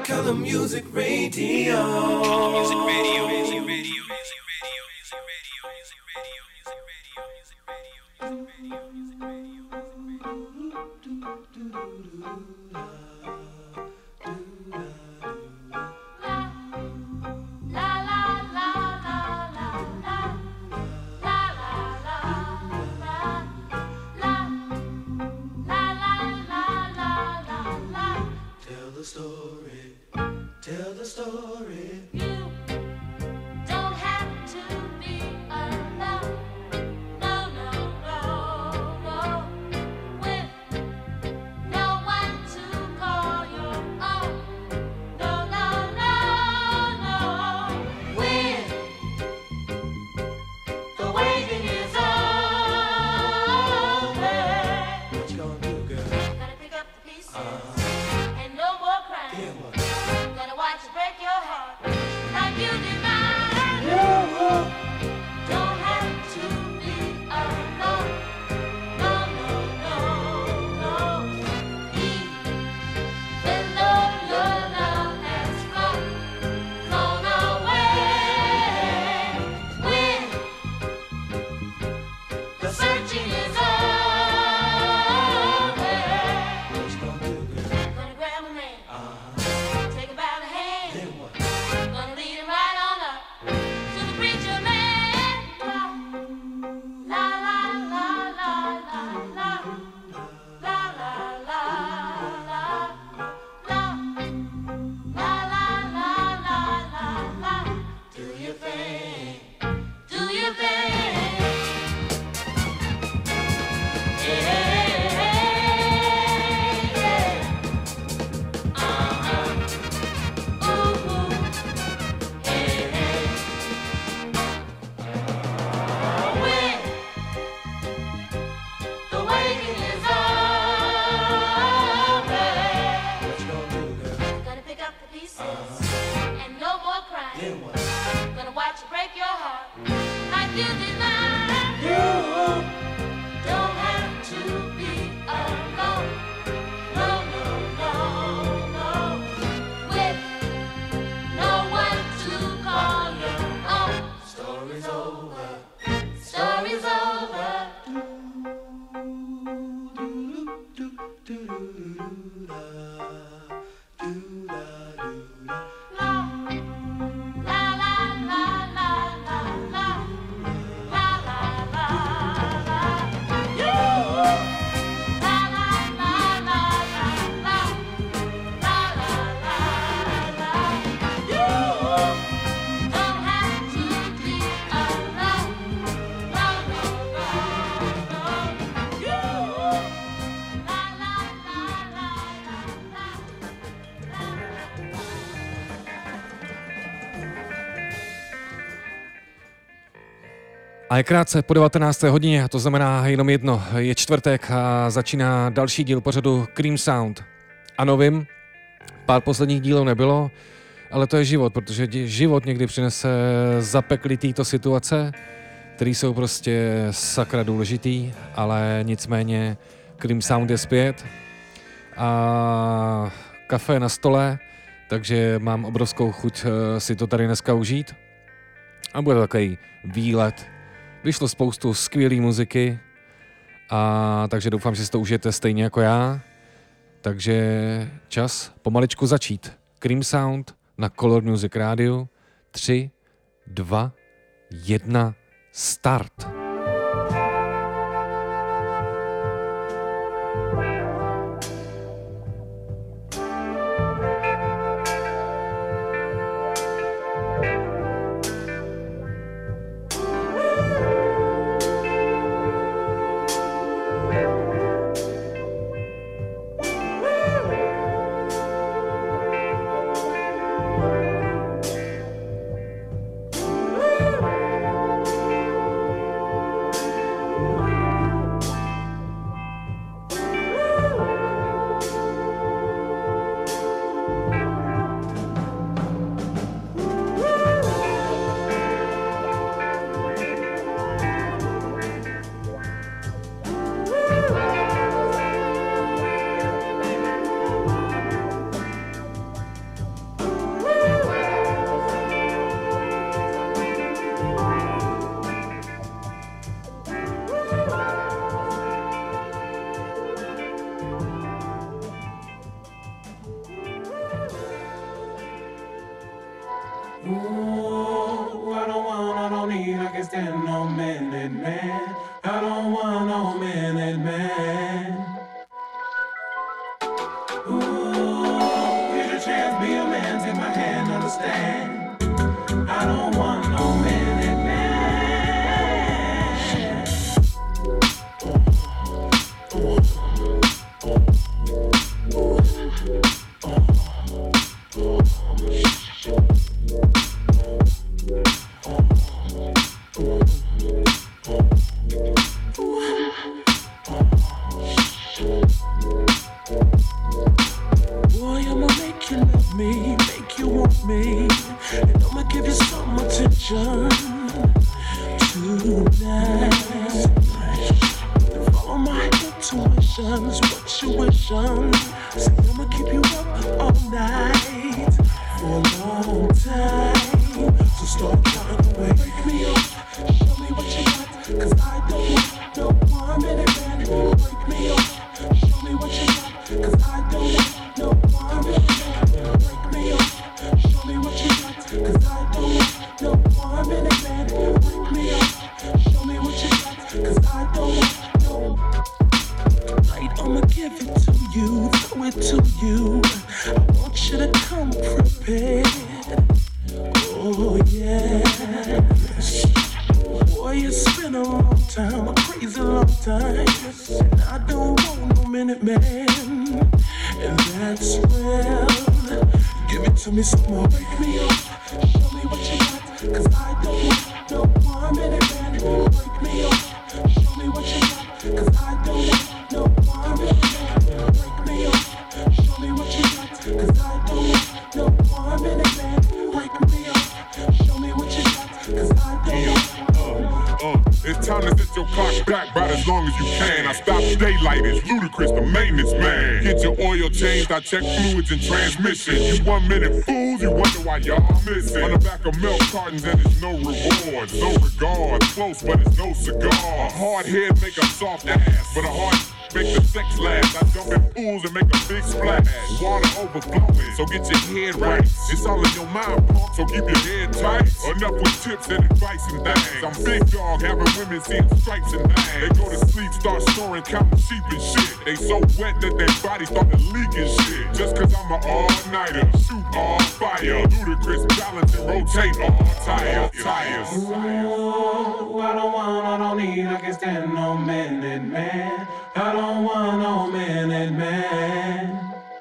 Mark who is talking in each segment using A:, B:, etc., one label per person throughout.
A: Color Music Radio. Music Radio. Music Radio. Tell the story. You don't have to be alone. No, no, no, no. With no one to call your own. No, no, no, no. When the waiting is over, what you gonna do, girl? Gotta pick up the pieces and no more crying. Yeah, what? Watch it break your heart like you did mine. You don't have to be alone. No, no, no, no. Even though your love has flown away, when the searching is over, what you gonna do, girl? Gonna grab a man. Take him by the hand. Gonna lead him right on up to the preacher man. La la la la la la la la la la la la la la la. Do your thing. Do your thing. Yeah. Gonna watch it break your heart like you did mine. You don't have to be alone. No, no, no, no. With no one to call your own. Story's over. Story's over.
B: A je krátce po 19. hodině, to znamená jenom jedno, je čtvrtek a začíná další díl pořadu Cream Sound. Ano, vím, pár posledních dílů nebylo, ale to je život, protože život někdy přinese zapeklitýto situace, které jsou prostě sakra důležitý, ale nicméně Cream Sound je zpět a kafe je na stole, takže mám obrovskou chuť si to tady dneska užít a bude to takový výlet. Vyšlo spoustu skvělé muziky, a takže doufám, že si to užijete stejně jako já. Takže čas pomaličku začít. Cream Sound na Color Music Radio. 3, 2, 1, start.
C: me, make you want me, and I'ma give you some attention tonight. Follow my intuitions, what you wishing. Say I'ma keep you up all night for a long time. So start trying to wake me up, show me what you got, 'cause I don't want no 1 minute man. Wake me up, show me what you got, 'cause I don't want no 1 minute man. Wake me up, show me what you got, 'cause I don't want no 1 minute man. Wake me up, show me what you got, 'cause I don't want no. Tonight I'ma give it to you, throw it to you. I want you to come prepared. Oh yeah. Boy, it's been a long time, a crazy long time, and I don't want no minute man. And that's real. Give it to me some more, wake me up, show me what you got, 'cause I don't want no 1 minute man. Wake me up, show me what you got, 'cause I don't want no 1 minute man. Wake me up, show me what you got, 'cause I don't want no 1 minute man. Wake me up, show me what you got, 'cause I don't want.
D: It's time to set your clock back about as long as you can. I stop daylight, it's Ludacris, the maintenance man. Get your oil changed, I check fluids and transmission. You 1 minute fools, you wonder why y'all missing. On the back of milk cartons and it's no rewards, no regard. Close but it's no cigar. A hard head make a soft ass, but a hard make the sex last. I jump in pools and make a big splash. Water overflowing, so get your head right. It's all in your mind, punk, so keep your head tight. Enough with tips and advice and things. I'm big dog, having women seeing stripes and things. They go to sleep, start snoring, counting sheep and shit. They so wet that their bodies start to leak and shit. Just 'cause I'm an all-nighter, shoot all fire. Ludacris balance and rotate all tires.
C: Ooh, I don't need, I can't stand no minute man. I don't want no minute man.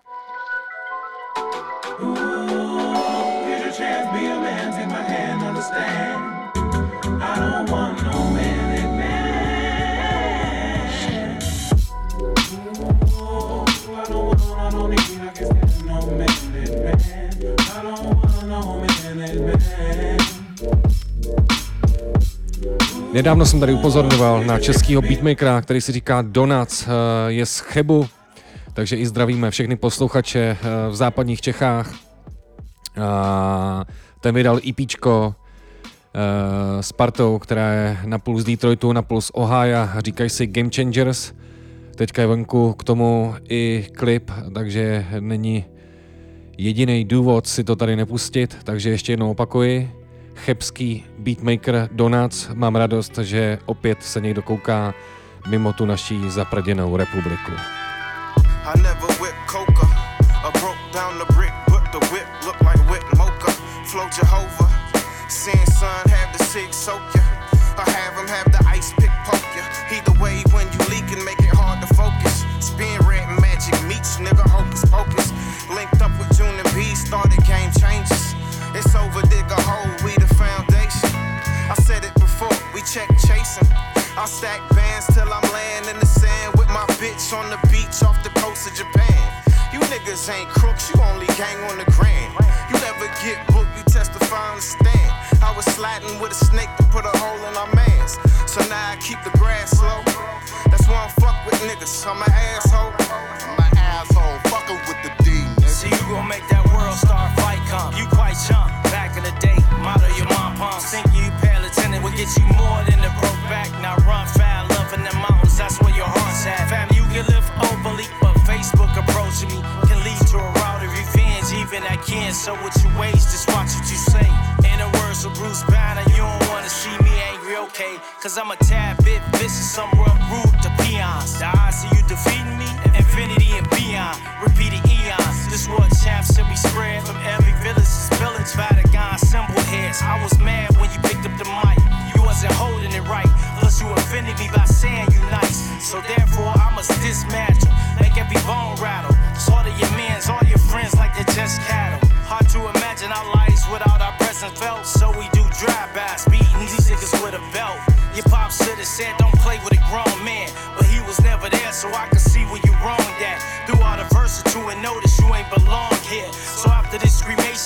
C: Ooh, here's your chance, be a man, take my hand, understand. I don't want no minute man. Ooh, I don't need, I can't stand no minute man. I don't want no minute man.
B: Nedávno jsem tady upozorňoval na českýho beatmakera, který si říká Donuts, je z Chebu, takže i zdravíme všechny posluchače v západních Čechách. Ten vydal EPčko s partou, která je napůl z Detroitu, napůl z Ohio, říkají si Game Changers. Teďka je venku k tomu i klip, takže není jediný důvod si to tady nepustit, takže ještě jednou opakuji. Chebský beatmaker Donuts, mám radost, že opět se někdo kouká mimo tu naší zapraděnou republiku.
E: I never whip coca, I broke down the brick, but the whip look like whip mocha. Flow Jehovah, seeing sun have the six soak ya. I have him have the ice pick poke ya. Either way when you leak and make it hard to focus. Spin red magic meets nigga hocus pocus. Linked up with June and B, started game changes. It's over, dig a hole, we the foundation. I said it before, we check chasing. I'll stack bands till I'm laying in the sand with my bitch on the beach off the coast of Japan. You niggas ain't crooks, you only gang on the grand. You never get booked, you testify on the stand. I was sliding with a snake to put a hole in our mans. So now I keep the grass low. That's why I fuck with niggas, I'm an asshole. I'm an asshole, fuckin' with the D, nigga.
F: So you gon' make that world star fight come. You quite chump, back in the day, model your mom pumps. Think you pale attendant will get you more than the broke back. Now run foul, love in the mountains, that's where your heart's at. Fam, you can live openly, but Facebook approaching me can lead to a route of revenge, even I can. So with your ways, just watch what you say. In the words of Bruce Banner, you don't wanna see me angry, okay? Cause I'm a tad bit vicious, somewhere rude to peons. The odds of you defeating me, infinity and beyond. Repeated eons, this world champs should be spread from every village's village. Vatican symbol heads. I was mad when you picked up the mic. You wasn't holding it right. Plus you offended me by saying you nice. So therefore I must dismantle, make every bone rattle. Slaughter your mans, all your friends like they're just cattle. Hard to imagine our lives without our presence felt. So we do drive-bys, beating these niggas with a belt. Your pop should have said don't play with a grown man, but he was never there, so I could see where you wronged at. Through all the verses to and notice you ain't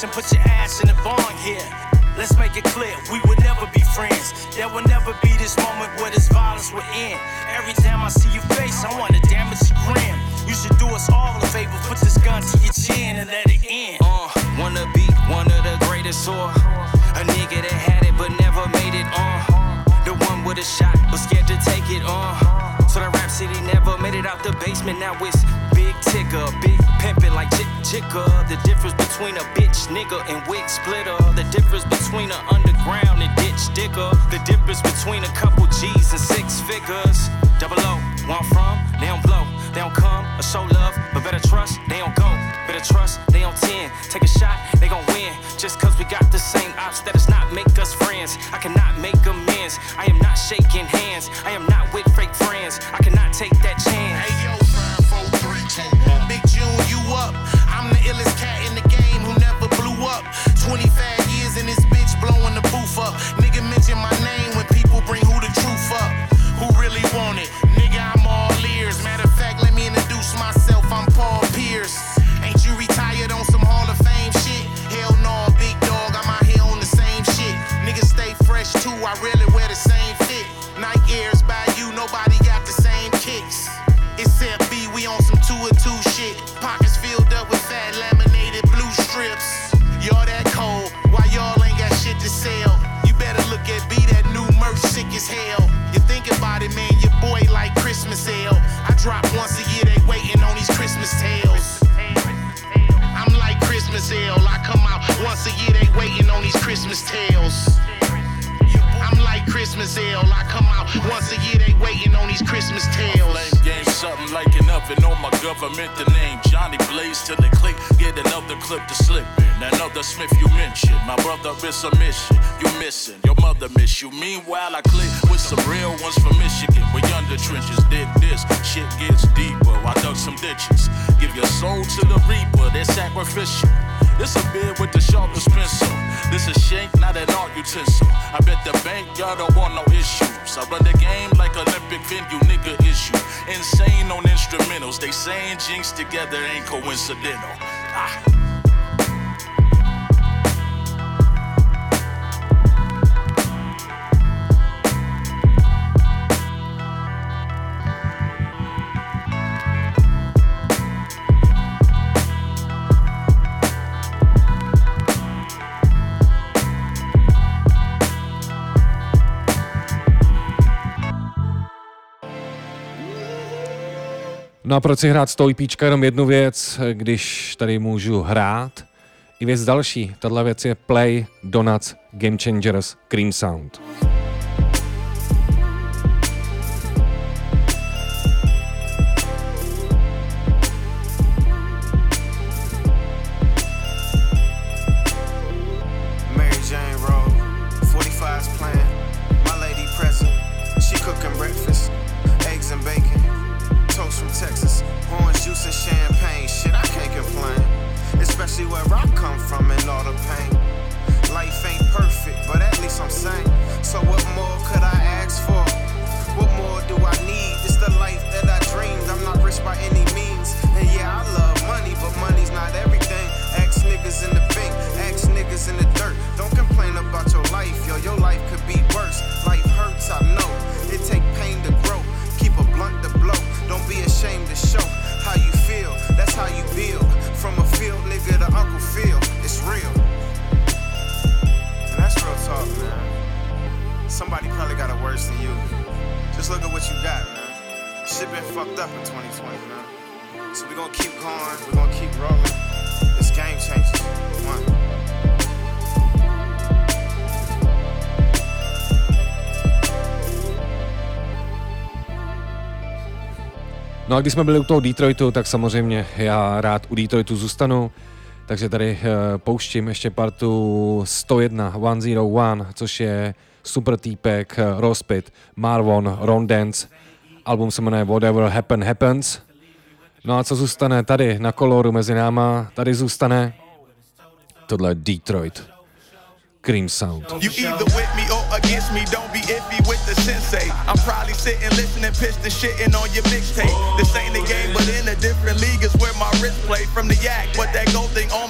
F: ass and put your ass in the barn here. Let's make it clear, we would never be friends. There will never be this moment where this violence will end. Every time I see your face, I wanna damage your grin. You should do us all a favor, put this gun to your chin and let it end.
G: Wanna be one of the greatest, or a nigga that had it but never made it on. The one with a shot but scared to take it on. So the rap city never made it out the basement. Now it's big tigger, big pimpin' like Jigga. The difference between a bitch nigga and wig splitter. The difference between an underground and ditch digger. The difference between a couple G's and 6 figures. Double O, where I'm from, they don't blow. They don't come or show love, but better trust, they don't go. Better trust, they on 10. Take a shot, they gon' win. Just cause we got the same ops, that does not make us friends. I cannot make amends. I am not shaking hands. I am not with fake friends. I cannot take that chance.
H: Hey yo, 5, 4, 3, 2. Big June, you up. I'm the illest cat in the game who never blew up. 25 years in this bitch blowing the booth up. Nigga mention my name when people bring who the truth up. Who really want it? Nigga, I'm all ears. Matter of fact, let me introduce myself. I'm Paul Pierce. Ain't you retired on some Hall of Fame shit? Hell no, big dog, I'm out here on the same shit. Niggas stay fresh too, I really wear the same fit. Nike Airs by you, nobody got the same kicks. Except B, we on some 2 or 2 shit. Pockets filled up with fat laminated blue strips. Y'all that cold, why y'all ain't got shit to sell? You better look at B, that new merch sick as hell. You think about it, man, your boy like Christmas ale. I drop once a year, they waiting on these Christmas tales. I'm like Christmas ale, I come out once a year, they waiting on these Christmas tales. I'm like Christmas ale, I come out once a year, they waiting on these Christmas tales.
I: Lame game, something like an oven on my government. The name Johnny Blaze till the click, get another clip to slip in. Another Smith you mentioned, my brother is a mission. You missing, your mother miss you. Meanwhile, I click with some real ones from Michigan. We under trenches, dig this, shit gets deeper. I dug some ditches, give your soul to the reaper, they're sacrificial. This a beer with the sharpest pencil. This a shank, not an art utensil. I bet the bank y'all don't want no issues. I run the game like Olympic venue, nigga issue. Insane on instrumentals. They saying jinx together ain't coincidental.
B: No a proč si hrát z toho EPčka jenom jednu věc, když tady můžu hrát i věc další. Tahle věc je Play Donuts Game Changers Cream Sound.
E: Mary Jane Road, 45's playing. My lady present, she cooking breakfast, eggs and bacon. Toast from Texas, orange juice and champagne. Shit, I can't complain, especially where I come from and all the pain. Life ain't perfect, but at least I'm sane. So what more could I ask for? What more do I need? It's the life that I dreamed. I'm not rich by any means, and yeah, I love money, but money's not everything. Ask niggas in the bank, ask niggas in the dirt. Don't complain about your life, yo, your life could be worse. Life hurts, I know, it take pain to grow. Keep a blunt to blow. Don't be ashamed to show how you feel. That's how you build. From a field nigga to Uncle Phil. It's real. And that's real talk, man. Somebody probably got it worse than you. Just look at what you got, man. Shit been fucked up in 2020, man. So we gonna keep going. We gonna keep rolling. This game changes. One.
B: No a když jsme byli u toho Detroitu, tak samozřejmě já rád u Detroitu zůstanu, takže tady pouštím ještě partu 101, 101, což je super týpek, Rospit, Marvon, Ron Dance, album se jmenuje Whatever Happen Happens. No a co zůstane tady na koloru mezi náma, tady zůstane tohle Detroit. Cream Sound.
J: You either with me or against me, don't be iffy with the sensei. I'm probably sitting listening, piston shitting on your mixtape. This ain't the game, but in a different league is where my wrist play from the yak. But that gold thing on my arm, that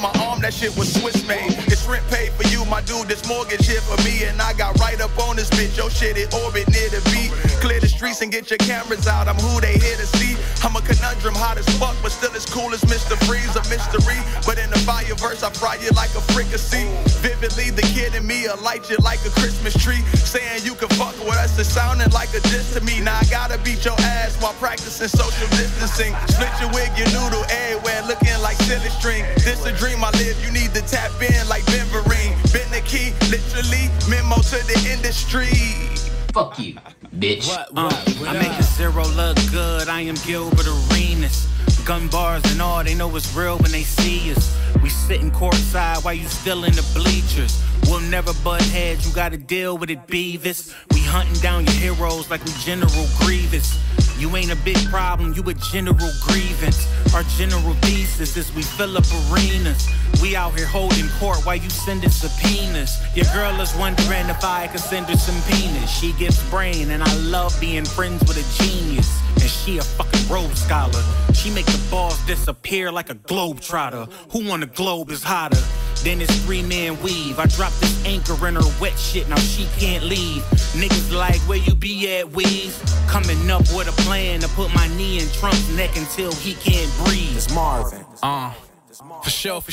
J: that shit was Swiss made. It's rent paid for you, my dude, this mortgage here for me. And I got right up on this bitch, your shit it orbit near the beat. Clear the streets and get your cameras out, I'm who they here to see. I'm a conundrum, hot as fuck, but still as cool as Mr. Freeze, a mystery. But in the fire verse, I fry you like a fricassee. Vividly, the kid in me, will light you like a Christmas tree. Saying you can fuck with us, it's sounding like a diss to me. Now I gotta beat your ass while practicing social distancing. Split your wig, your noodle everywhere, looking like silly string. This a dream I live, you need to tap in like Ben Vereen. Been the key, literally, memo to the industry.
K: Fuck you, bitch.
F: I make a zero look good, I am Gilbert Arenas. Gun bars and all, they know it's real when they see us. We sitting courtside while you still in the bleachers. We'll never butt heads, you gotta deal with it, Beavis. We hunting down your heroes like we General Grievous. You ain't a big problem, you a general grievance. Our general thesis is we fill up arenas. We out here holding court while you sending subpoenas. Your girl is wondering if I could send her some penis. She gives brain and I love being friends with a genius. And she a fucking Rhodes Scholar. She make the balls disappear like a globetrotter. Who on the globe is hotter? Then it's 3-man weave. I dropped this anchor in her wet shit, now she can't leave. Niggas like, where you be at, Weez? Coming up with a plan to put my knee in Trump's neck until he can't breathe. It's Marvin.
L: For sure.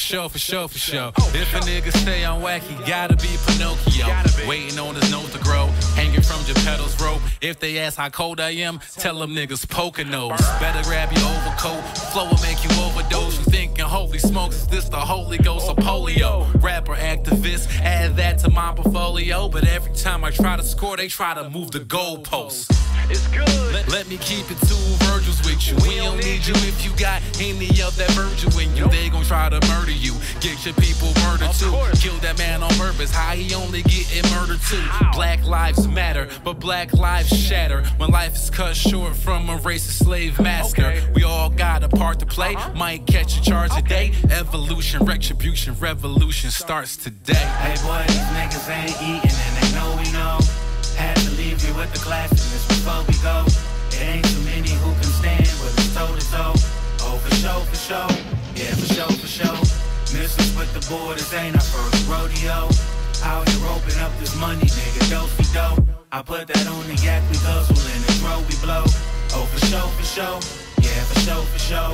L: If a nigga stay on whack, he gotta be Pinocchio. Waiting on his nose to grow, hanging from Geppetto's rope. If they ask how cold I am, tell them niggas Poconos. Better grab your overcoat, flow will make you overdose. You thinking holy smokes, is this the Holy Ghost or polio? Rapper, activist, add that to my portfolio. But every time I try to score, they try to move the goalposts. It's good. Let me keep it 2 Virgils with you. We don't need you if you got any of that Virgil in you. They gon' try to murder you, get your people murdered too. Kill that man on purpose, how he only getting murdered too. Black lives matter, but black lives shatter when life is cut short from a racist slave massacre. We all got a part to play, might catch a charge today. Evolution, retribution, revolution starts today.
F: Hey boy, these niggas ain't eating and they know we know. Had to leave you with the glasses before we go. It ain't too many who can stand with us toe to toe. Oh, for sure. Yeah, for sure. Misses with the borders ain't our first rodeo. Out here open up this money, nigga, do-si-do. I put that on the yak, we guzzle and the throw we blow. Oh, for sure. Yeah, for sure.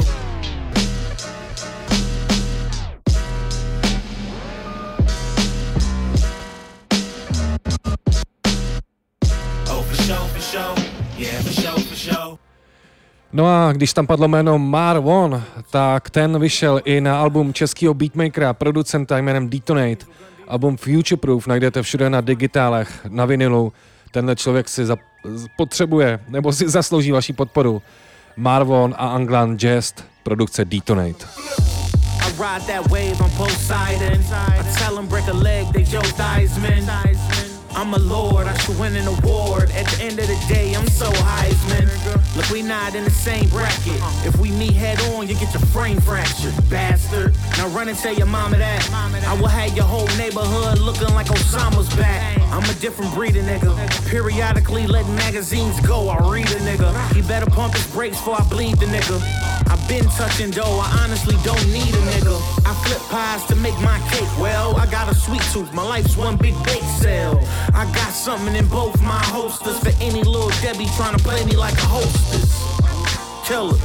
B: No a když tam padlo jméno Marvon, tak ten vyšel i na album českého beatmakera, producenta jménem Detonate. Album Futureproof najdete všude na digitálech, na vinilu. Tenhle člověk si potřebuje, nebo si zaslouží vaši podporu. Marvon a Anglan Jest, produkce Detonate.
F: I ride that wave on Poseidon. I tell them break a leg, they Joe Theismann. I'm a lord, I should win an award. At the end of the day, I'm so Heisman. Look, we not in the same bracket. If we meet head on, you get your frame fractured, bastard. Now run and tell your mama that. I will have your whole neighborhood looking like Osama's back. I'm a different breed of nigga. Periodically letting magazines go, I read a nigga. He better pump his brakes before I bleed the nigga. I've been touching dough, I honestly don't need a nigga. I flip pies to make my cake, well, I got a sweet tooth, my life's one big bake sale. I got something in both my holsters for any little Debbie trying to play me like a hostess. Killers.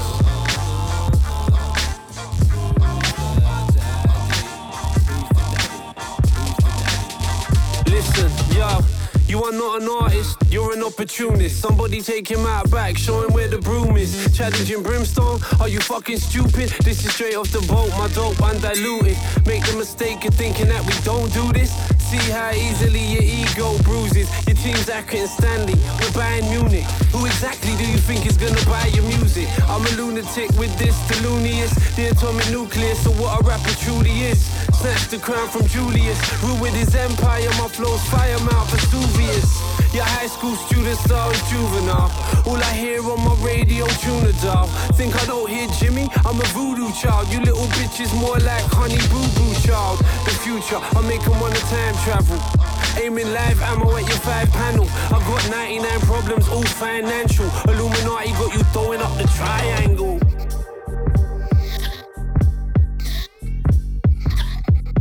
M: Listen, yo. You are not an artist, you're an opportunist. Somebody take him out back, show him where the broom is. Challenging brimstone, are you fucking stupid? This is straight off the boat, my dope undiluted. Make the mistake of thinking that we don't do this. See how easily your ego bruises. Your team's Acker and Stanley, we're buying Munich. Who exactly do you think is gonna buy your music? I'm a lunatic with this, the looniest. The atomic nucleus, so what a rapper truly is. Snatched the crown from Julius, ruined his empire, my flow's fire mouth Vesuvius. Your high school student star is juvenile. All I hear on my radio, tuna doll. Think I don't hear Jimmy? I'm a voodoo child. You little bitches more like honey boo boo child. The future, I make them wanna time travel. Aiming live ammo at your 5 panel. I got 99 problems, all financial. Illuminati got you throwing up the triangle.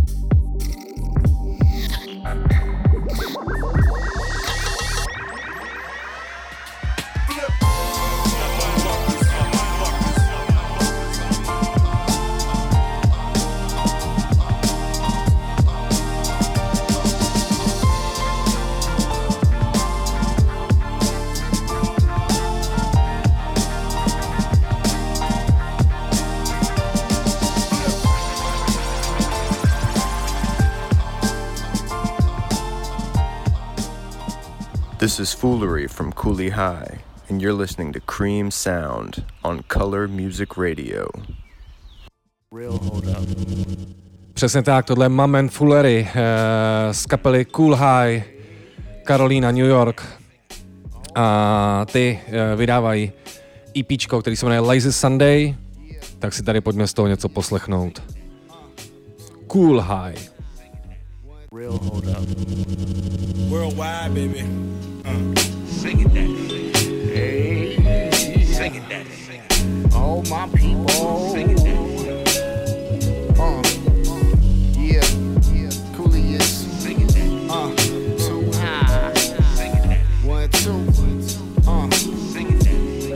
N: This is Foolery from Cooley High, and you're listening to Cream Sound on Color Music Radio.
B: Přesně tak, tohle je Mamen Foolery z kapely Cool High, Carolina, New York. A ty vydávají EPčko, který se jmenuje Lazy Sunday, tak si tady pojďme z toho něco poslechnout. Cool High.
O: Real hold up. Worldwide, baby.
P: Sing it, daddy. Hey. Sing it, daddy.
O: All my people.
P: Sing it, daddy.
O: Yeah. Cooley is.
P: Sing it, daddy.
O: Too high.
P: Sing it, daddy.
O: 1, 2.
P: Sing it,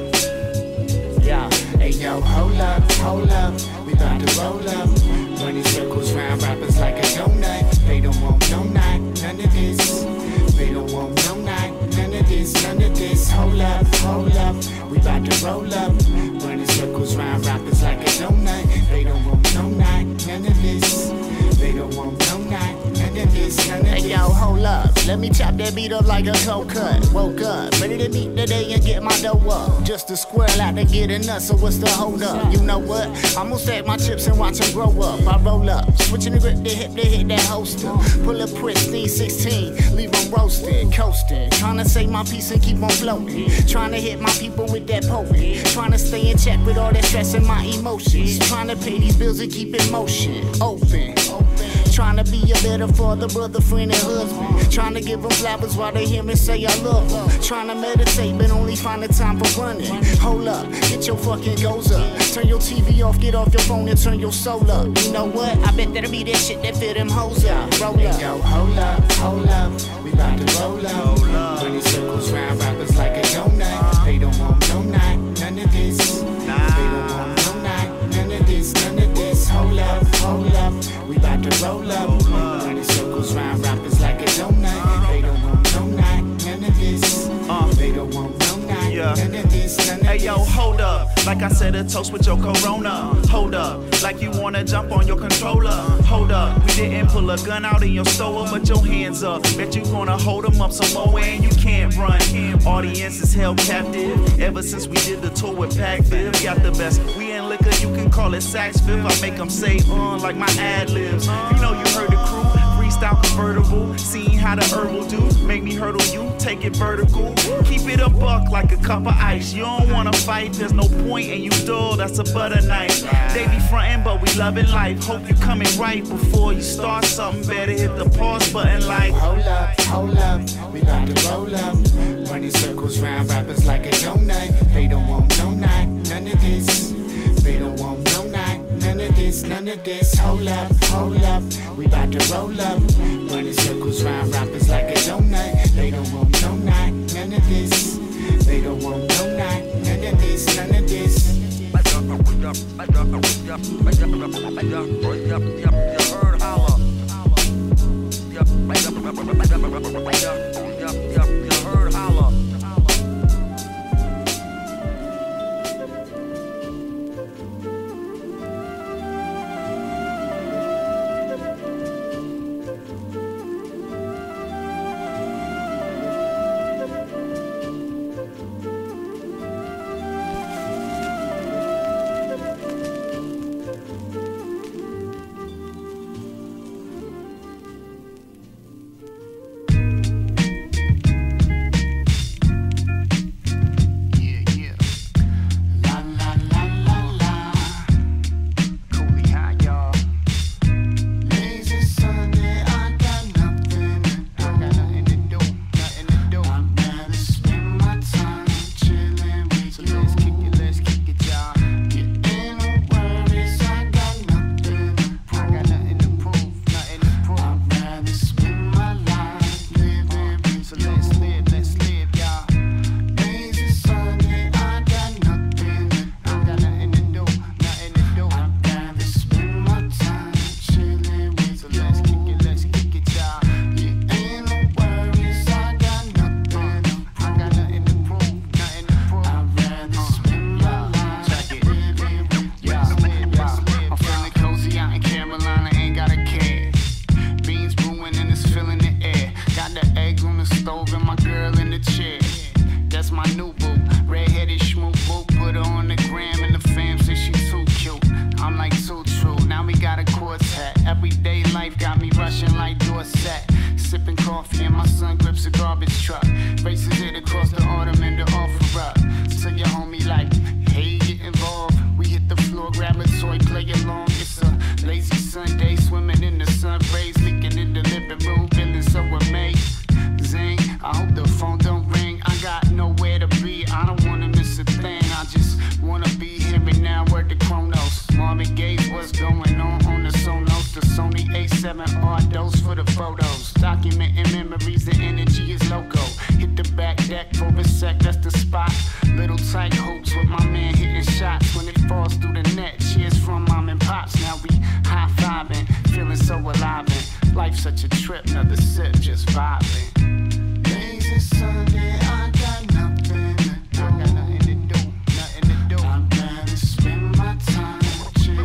P: daddy.
O: Yeah. Hey, yo, hold up. We about to roll up. Running circles round rappers like a donut. They don't want no night, none of this. They don't want no night, none of this. Hold up. We about to roll up. Running circles round rappers like a donut. They don't want no night, none of this. They don't want no night, none of this. Hey yo, hold up. Let me chop that beat up like a cold cut. Woke up, ready to meet the day and get my dough up. Just a squirrel out to get a nut, so what's the hold up? You know what? I'm gonna stack my chips and watch them grow up. I roll up, switching the grip to hit that holster. Pull a pristine 16, leave them roasted, coasting. Trying to save my peace and keep on floating. Trying to hit my people with that potent. Trying to stay in check with all that stress and my emotions. Trying to pay these bills and keep in motion. Open. Trying to be a better father, brother, friend, and husband. Trying to give them flowers while they hear me say I love them. Trying to meditate, but only find the time for running. Hold up, get your fucking goals up. Turn your TV off, get off your phone and turn your soul up. You know what? I bet that'll be that shit that fit them hoes up. Roll up. Yo, hold up. We about to roll up. Running circles round rappers like a donut. They don't want no night, none of this. They don't want no night, none of this. Hold up. We about to roll up. Running circles round rappers like a donut. They don't want no night, none of this. They don't want no night, none of this.
J: Hey yo, hold up. Like I said, a toast with your corona. Hold up. Like you wanna jump on your controller. Hold up. We didn't pull a gun out in your store, but your hands up. Bet you gonna hold them up some more and you can't run. Audience is held captive. Ever since we did the tour with Pac Viv, got the best. We in liquor, you can call it sax fifth. I make them say like my ad libs. You know you heard the crew. Freestyle convertible. Seeing how the herbal do. Make me hurdle you. Take it vertical. Keep it a buck like a cup of ice. You don't wanna fight, there's no point, and you dull, that's a butter knife. They be frontin', but we loving life. Hope you coming right before you start something better. Hit the pause button like
O: Hold up, we about to roll up. Running circles round rappers like a donut. They don't want no night, none of this. They don't want no night, none of this. Hold up, we about to roll up. Running circles round rappers like a donut. They don't want no night, none of this. They don't want no night, none of this. set. Sipping coffee and my son grips a garbage truck. Races it across the autumn and the offer up. So your homie like, hey, get involved. We hit the floor, grab a toy, play along. It's a lazy Sunday, swimming in the sun rays, leaking in the living room, feeling so amazing. I hope the phone don't ring. I got nowhere to be. I don't wanna miss a thing. I just wanna be here and now. Word to Chronos. Marvin Gaye's what's going on the Sonos. The Sony A7R dose for the photos. Documenting memories, the energy is loco. Hit the back deck for a sec, that's the spot. Little tight hopes with my man hitting shots. When it falls through the net, cheers from mom and pops. Now we high-fiving, feeling so alive. And life's such a trip, another sip, just vibing. Lazy Sunday, I got nothing to do. I got nothing to do, nothing to do. I'm glad to spend my time chilling.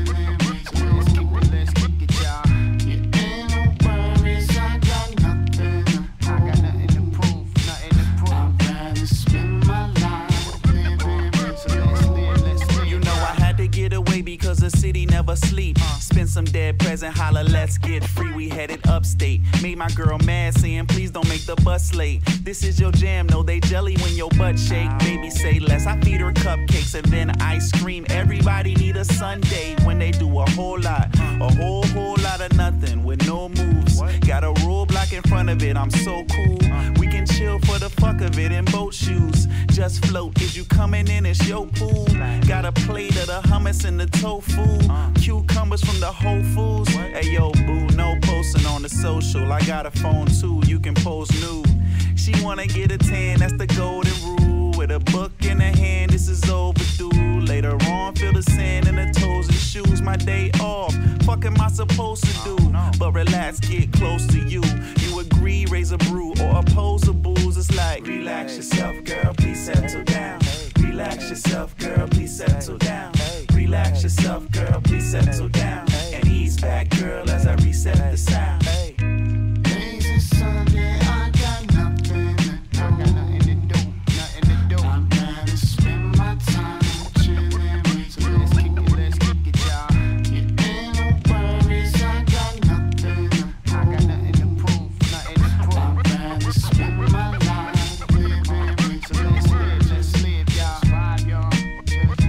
O: Let's kick it, y'all. Yeah, ain't no worries, I got nothing to prove. I got nothing to prove, nothing to prove. I'm glad to spend my life living. So let's live.
Q: You know I had to get away because the city never sleep. Spend some dead present, holla, let's get free. We headed upstate. Made my girl mad, saying please don't make the bus late. This is your jam, no they jelly when your butt shake. Baby say less, I feed her cupcakes and then ice cream. Everybody need a Sunday when they do a whole lot of nothing with no moves. Got a rule block in front of it, I'm so cool. We can chill for the fuck of it in boat shoes. Just float, is you coming in, it's your pool. Got a plate of the hummus and the tofu. Cucumbers from the Whole Foods. Hey yo boo, no posting on the social. I got a phone too, you can post nude. She wanna get a tan, that's the golden rule. With a book in her hand, this is overdue. Later on, feel the sand in her toes and shoes. My day off, fuck am I supposed to do? But relax, get close to you. You agree, raise a brew or oppose a booze. It's like, relax yourself, girl, please settle down. Relax yourself, girl, please settle down. Relax yourself, girl, please settle down. And ease back, girl, as I reset the sound.
O: Lazy Sunday, I got nothing to do. I got nothing to do, nothing to do. I'm glad to spend my time chilling. So let's kick it, y'all. Yeah, ain't no worries, I got nothing to prove. I got nothing to prove, nothing to prove. I'm glad to spend my life living. So let's live, y'all. Vibe, y'all. Just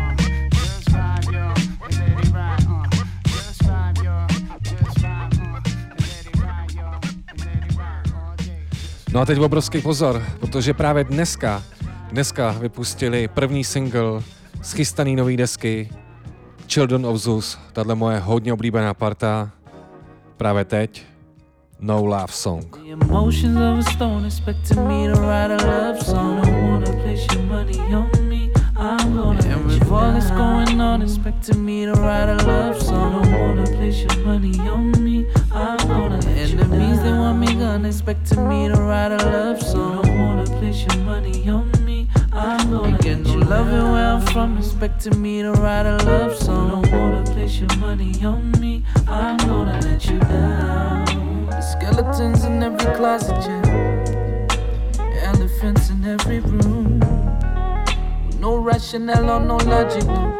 O: vibe, y'all. And let it ride, Just vibe, y'all. Just vibe, and let it ride, y'all. And let it ride all day.
B: No a teď obrovský pozor, protože právě dneska vypustili první single z chystaný nový desky Children of Zeus, tahle moje hodně oblíbená parta, právě teď No Love Song.
R: The emotions of a stone expecting me to write a love song. I wanna place your money on me, I'm gonna and with all that's going on expecting me to write a love song. I wanna place your money on me, I'm gonna enemies they want me gone expecting me to write a love song. I wanna place your money on me, I'm gonna get you loving where I'm from expecting me to write a love song. I wanna place your money on me, I'm gonna let you down. The skeletons in every closet, yeah. Elephants in every room. No rationale or no logic, no.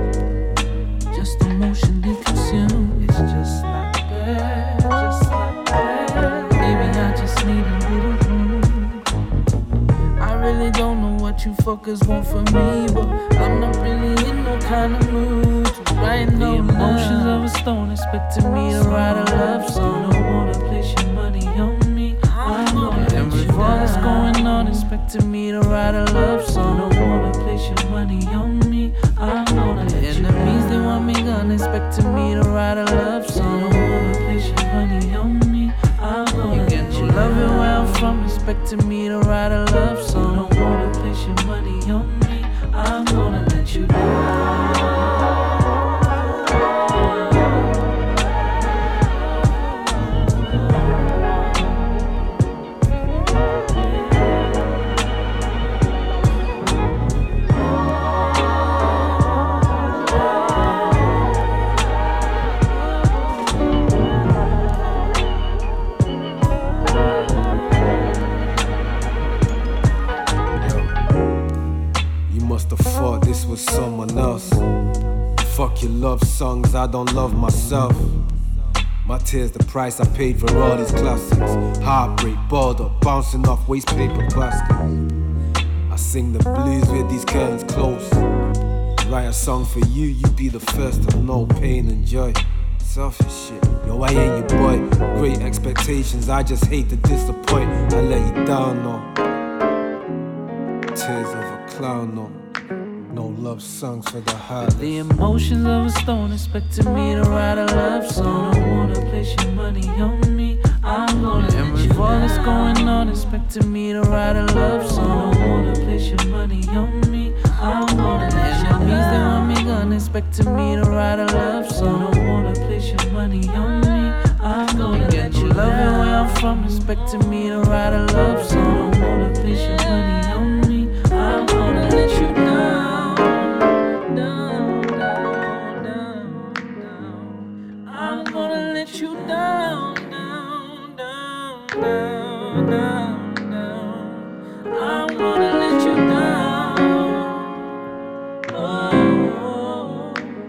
R: Just emotionally consumed. It's just like that, just like that. Baby, I just need a little room. I really don't know what you fuckers want from me, but I'm not really in no kind of mood to write no love. The emotions of a stone expecting me to write a love song. I wanna place your money on me, I'm gonna and with all that's going on expecting me to write a love song. I wanna place your money on me, I'm gonna let you enemies they want me gone expecting me to write a love song. I wanna place your money on me, I'm gonna get you loving where I'm from expecting me to write a love song. I wanna place your money on me, I'm gonna let you down.
S: Was someone else. Fuck your love songs, I don't love myself. My tears the price I paid for all these classics. Heartbreak, balled up, bouncing off waste paper baskets. I sing the blues with these curtains close. Write a song for you, you be the first to know pain and joy. Selfish shit, yo, I ain't your boy. Great expectations, I just hate to disappoint. I let you down, no. Tears of a clown, no. No love songs for the heart.
R: The emotions of a stone expecting me to write a love song. I wanna place your money on me. I'm gonna and with all that's going on, expecting me to write a love song. I wanna place your money on me. I'm gonna enemies that want me gone, expecting me to write a love song. I wanna place your money on me. I'm gonna get you loving where I'm from, expecting me to write a love song. I wanna place your money on me. I'm gonna let you down. You down, down, down, down, down, down. I wanna let you down. Oh,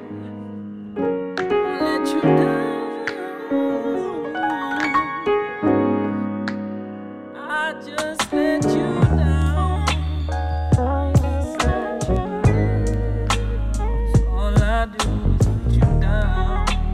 R: let you down. I just let you down. So all I do is let you down.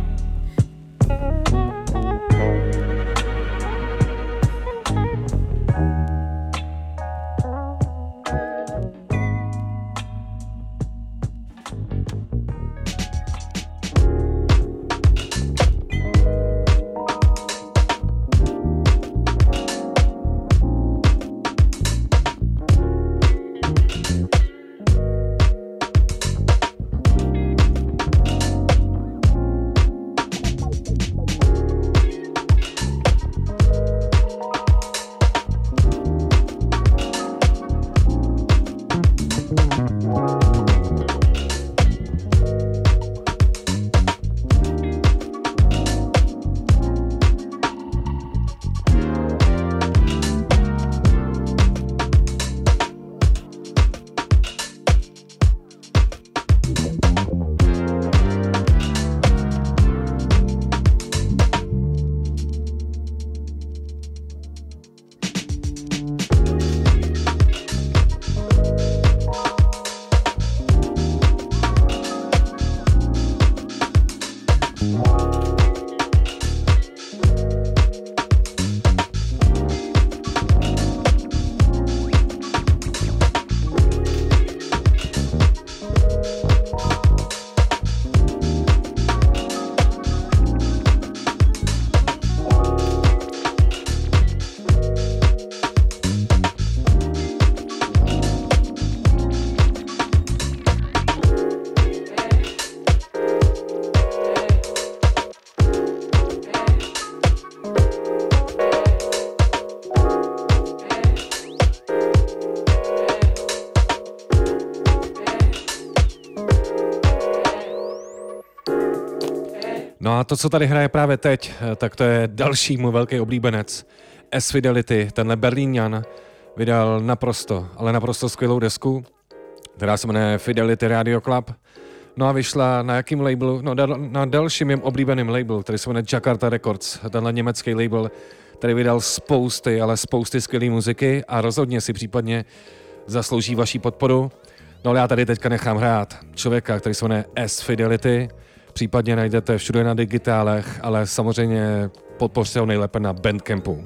B: No a to, co tady hraje právě teď, tak to je další můj velký oblíbenec. S-Fidelity, tenhle Berlíňan, vydal naprosto, ale naprosto skvělou desku, která se jmenuje Fidelity Radio Club. No a vyšla na jakým labelu? No na dalším mým oblíbeným labelu, který se jmenuje Jakarta Records, tenhle německý label, který vydal spousty, ale spousty skvělé muziky a rozhodně si případně zaslouží vaši podporu. No ale já tady teďka nechám hrát člověka, který se jmenuje S-Fidelity, případně najdete všude na digitálech, ale samozřejmě podpořte ho nejlépe na Bandcampu.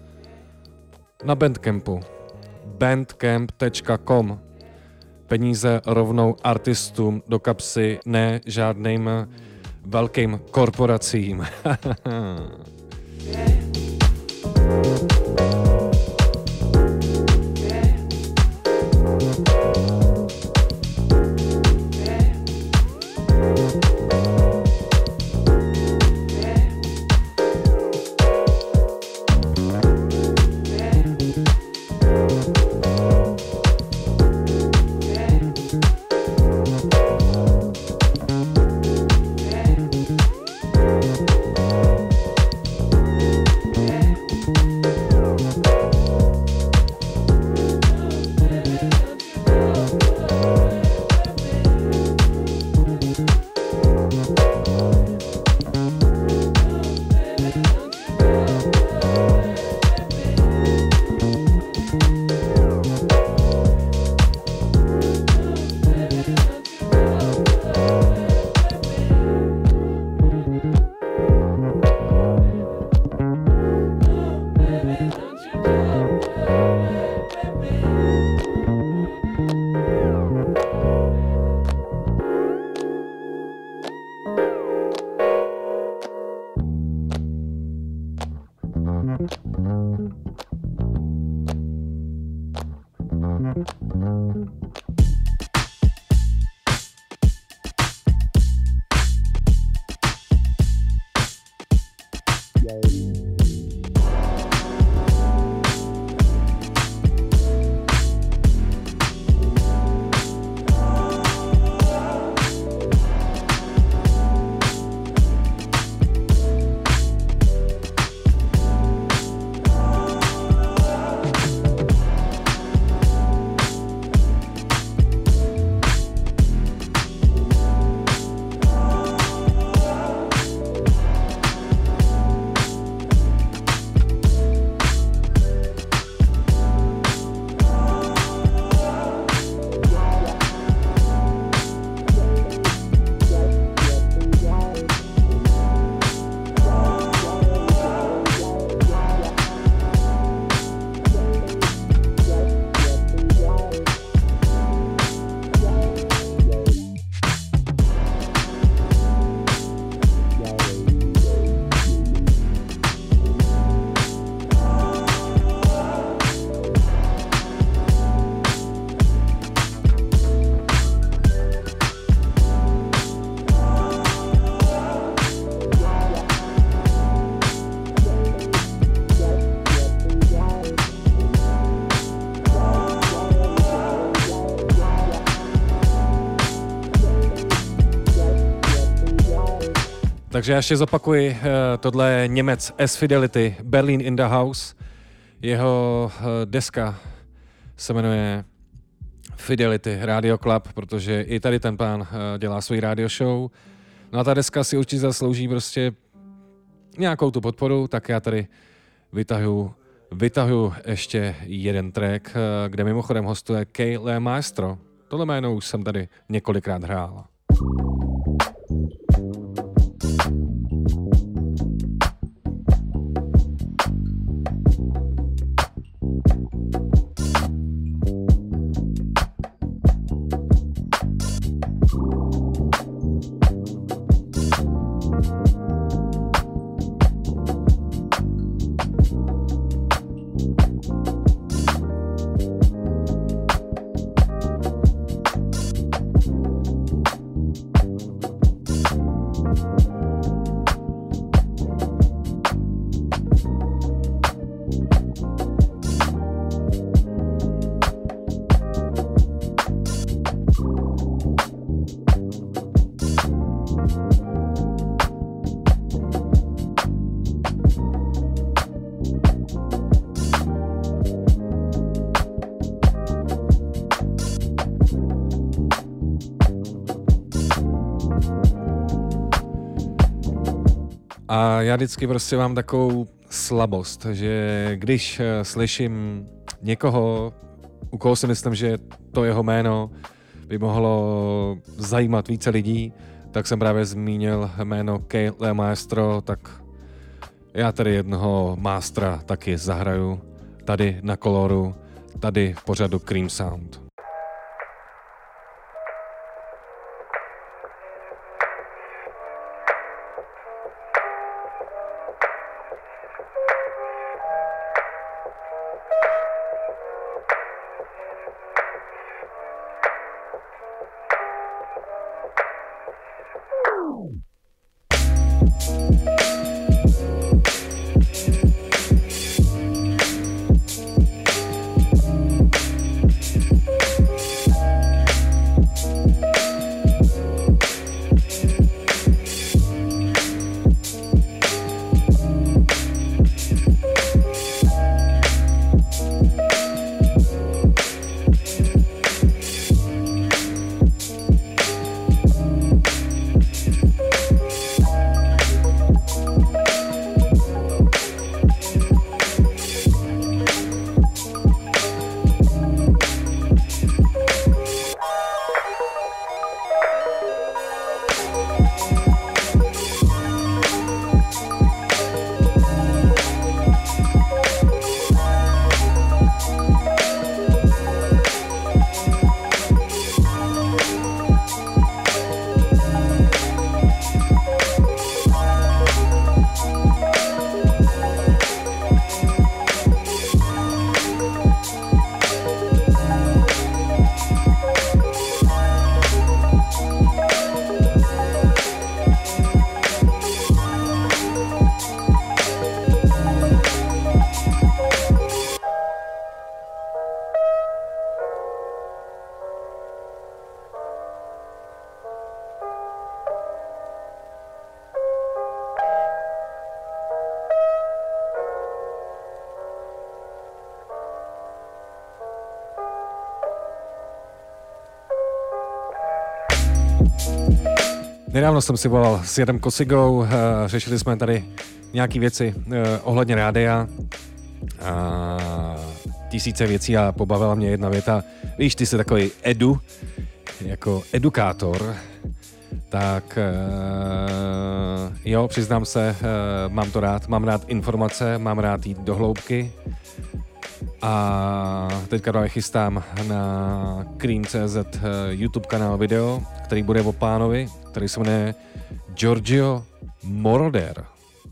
B: Na Bandcampu. bandcamp.com. Peníze rovnou artistům do kapsy, ne žádným velkým korporacím. Takže já ještě zopakuji, tohle je Němec S Fidelity, Berlin in the House. Jeho deska se jmenuje Fidelity Radio Club, protože i tady ten pán dělá svůj radio show. No a ta deska si určitě zaslouží prostě nějakou tu podporu, tak já tady vytahuju ještě jeden track, kde mimochodem hostuje Kay Le Maestro. Tohle jméno už jsem tady několikrát hrál. A já vždycky prostě mám takovou slabost, že když slyším někoho, u koho si myslím, že to jeho jméno by mohlo zajímat více lidí, tak jsem právě zmínil jméno Kay Le Maestro, tak já tady jednoho mástra taky zahraju tady na Koloru, tady v pořadu Cream Sound. Nedávno jsem si volal s Jadem Kosigou, řešili jsme tady nějaký věci ohledně rádia a tisíce věcí a pobavila mě jedna věta. Víš, ty jsi takový jako edukátor, tak jo, přiznám se, mám to rád, mám rád informace, mám rád jít do hloubky a teďka právě chystám na Cream.cz YouTube kanál video, který bude o pánovi, který se jmenuje Giorgio Moroder.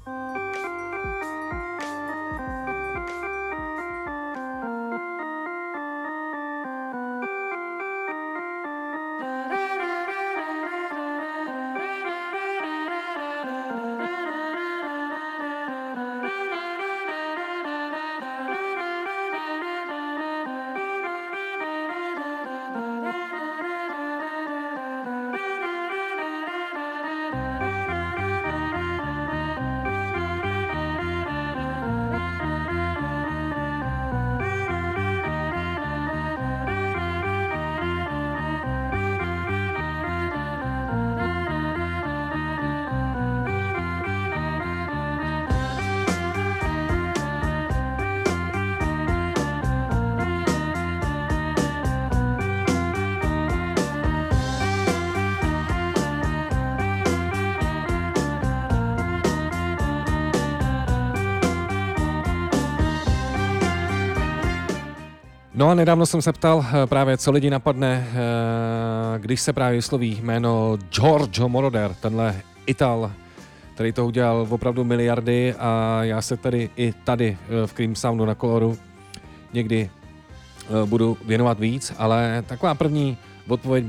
B: No a nedávno jsem se ptal právě, co lidi napadne, když se právě vysloví jméno Giorgio Moroder, tenhle Ital, který to udělal opravdu miliardy a já se tady i tady v Cream Soundu na Koloru někdy budu věnovat víc, ale taková první odpověď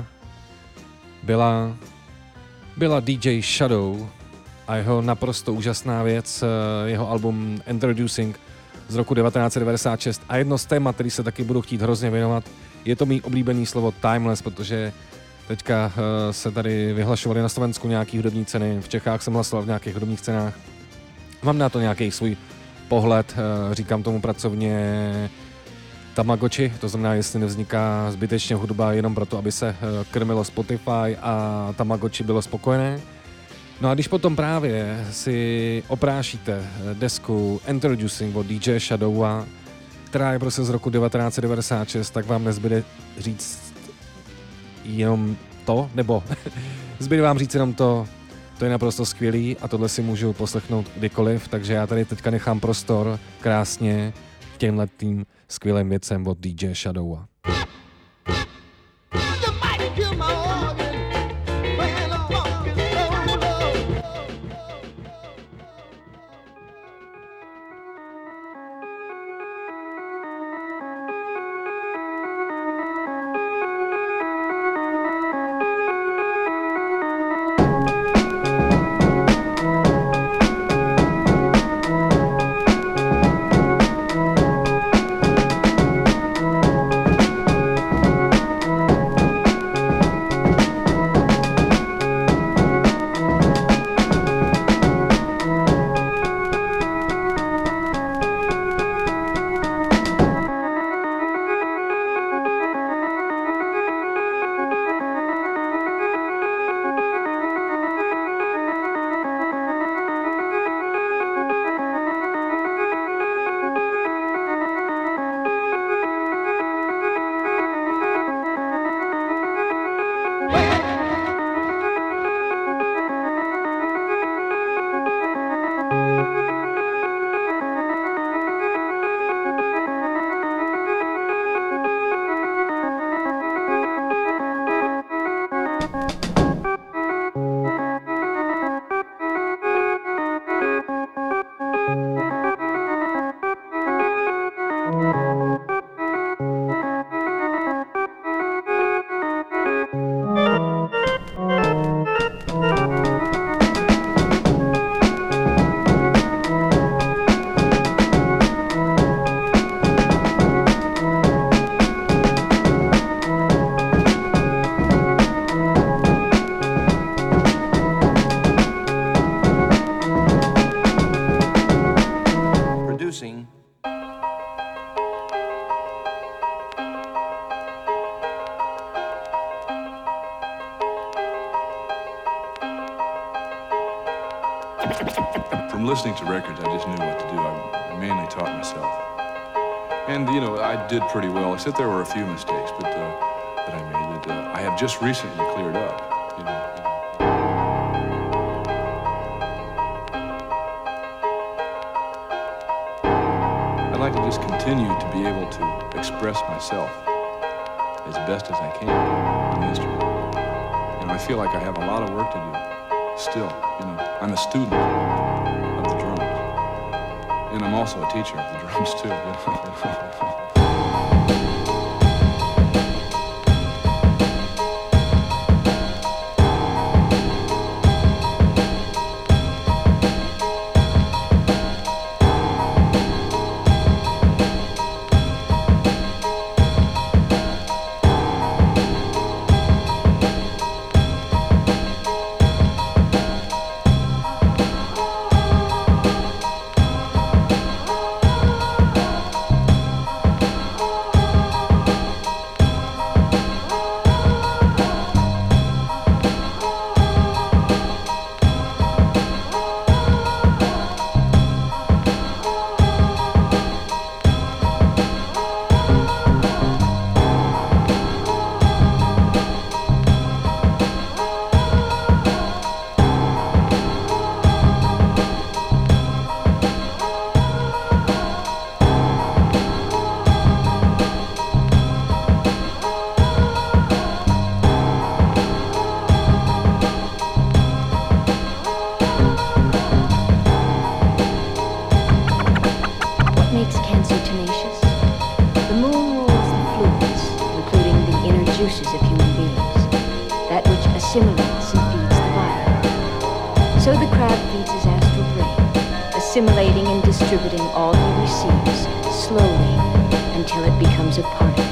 B: byla DJ Shadow a jeho naprosto úžasná věc, jeho album Introducing z roku 1996 a jedno z témat, který se taky budu chtít hrozně věnovat, je to mý oblíbený slovo timeless, protože teďka se tady vyhlašovaly na Slovensku nějaký hudební ceny, v Čechách jsem hlasoval v nějakých hudebních cenách. Mám na to nějaký svůj pohled, říkám tomu pracovně Tamagotchi, to znamená, jestli nevzniká zbytečně hudba jenom proto, aby se krmilo Spotify a Tamagotchi bylo spokojené. No a když potom právě si oprášíte desku Introducing od DJ Shadowa, která je prostě z roku 1996, tak vám nezbyde říct jenom to, nebo zbyde vám říct jenom to je naprosto skvělý a tohle si můžu poslechnout kdykoliv, takže já tady teďka nechám prostor krásně těmhletým skvělým věcem od DJ Shadowa.
T: listening to records, I just knew what to do. I mainly taught myself. And, you know, I did pretty well, except there were a few mistakes that I made that I have just recently cleared up. You know. I'd like to just continue to be able to express myself as best as I can on the instrument. And I feel like I have a lot of work to do still. You know, I'm a student of the drums. And I'm also a teacher of the drums too. You know?
U: assimilating and distributing all he receives slowly until it becomes a part of him.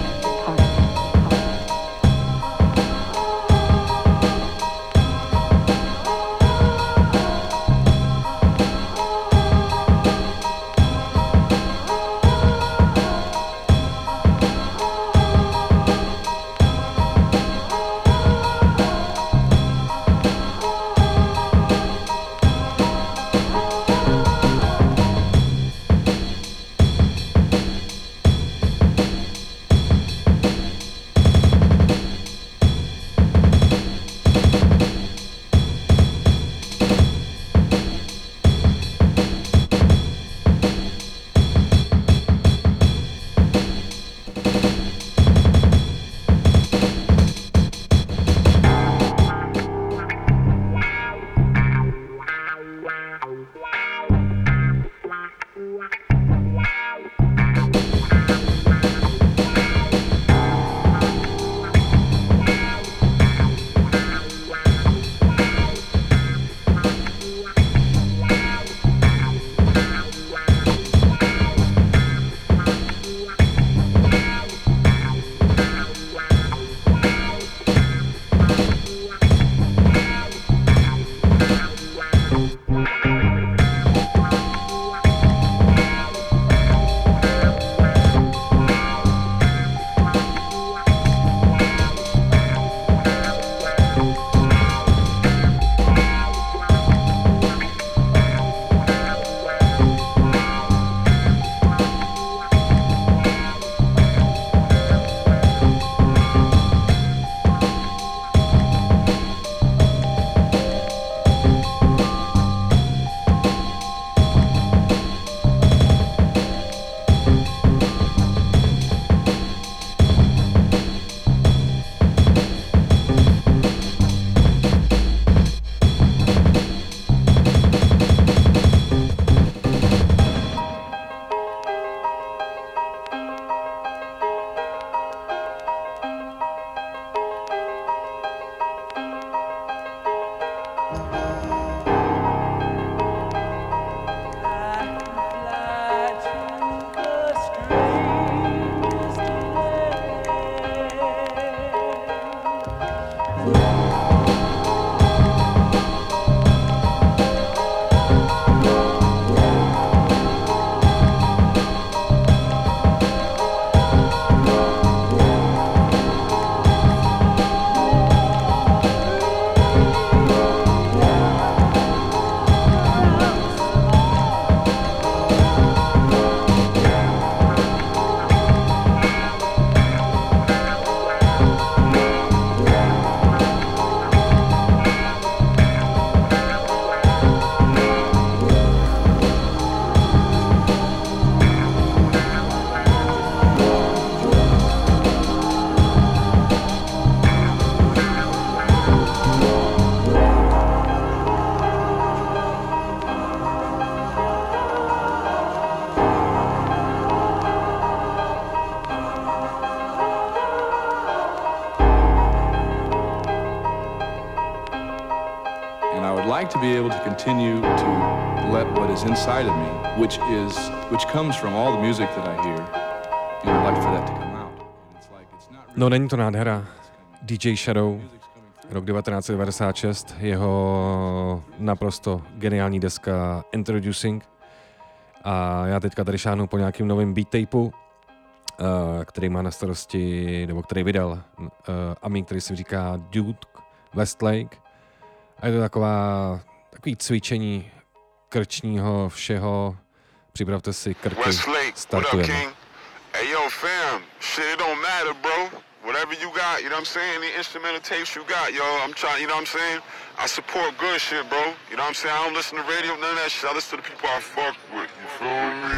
T: to be able to continue to let what is inside of me, which comes from all the music that I hear, and I'd like for that to come out.
B: No, není to nádhera. DJ Shadow, rok 1996, jeho naprosto geniální deska Introducing. A já teďka tady šáhnu po nějakým novým beat tapeu, který má na starosti, nebo který vydal Amík, který se říká Duke Westlake. A je to takový cvičení krčního všeho. Připravte si krky, startujeme.
A: Hey yo fam, shit it don't matter bro. Whatever you got, you know what I'm saying? Any instrumental tapes you got, yo, I'm trying, you know what I'm saying? I support good shit, bro. You know what I'm saying? I don't listen to radio, none of that shit. I listen to the people I fuck with. You feel me?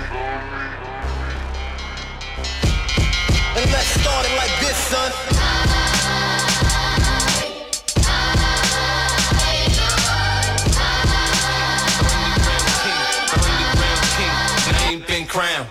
V: And let's start it like this, son.
G: Name been crowned.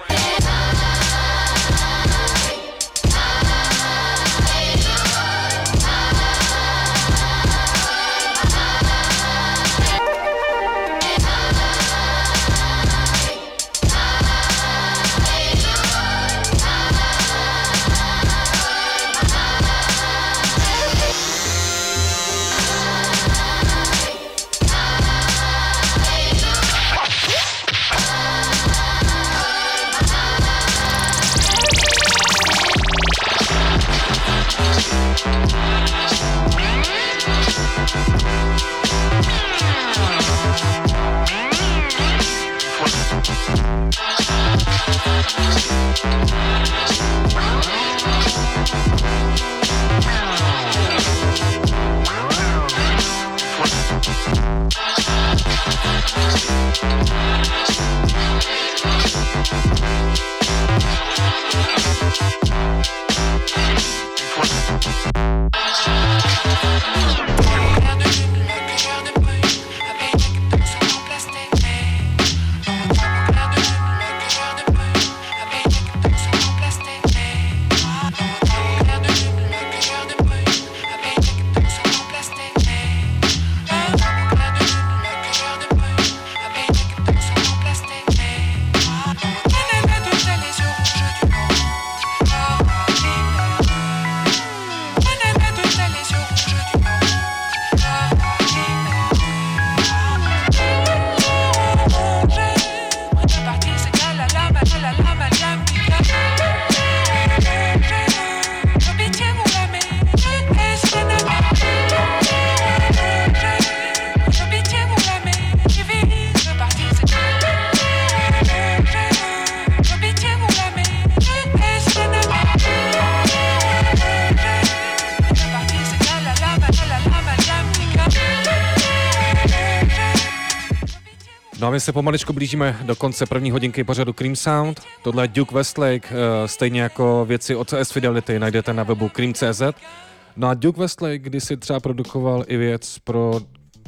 B: No a my se pomaličku blížíme do konce první hodinky pořadu Cream Sound. Tohle je Duke Westlake, stejně jako věci od S Fidelity najdete na webu cream.cz. No a Duke Westlake kdysi třeba produkoval i věc pro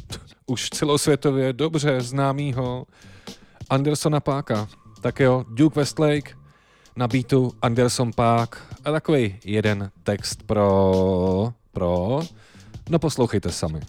B: už celosvětově dobře známýho Andersona Paaka. Tak jo, Duke Westlake na beatu Anderson Paak a takový jeden text pro... No poslouchejte sami.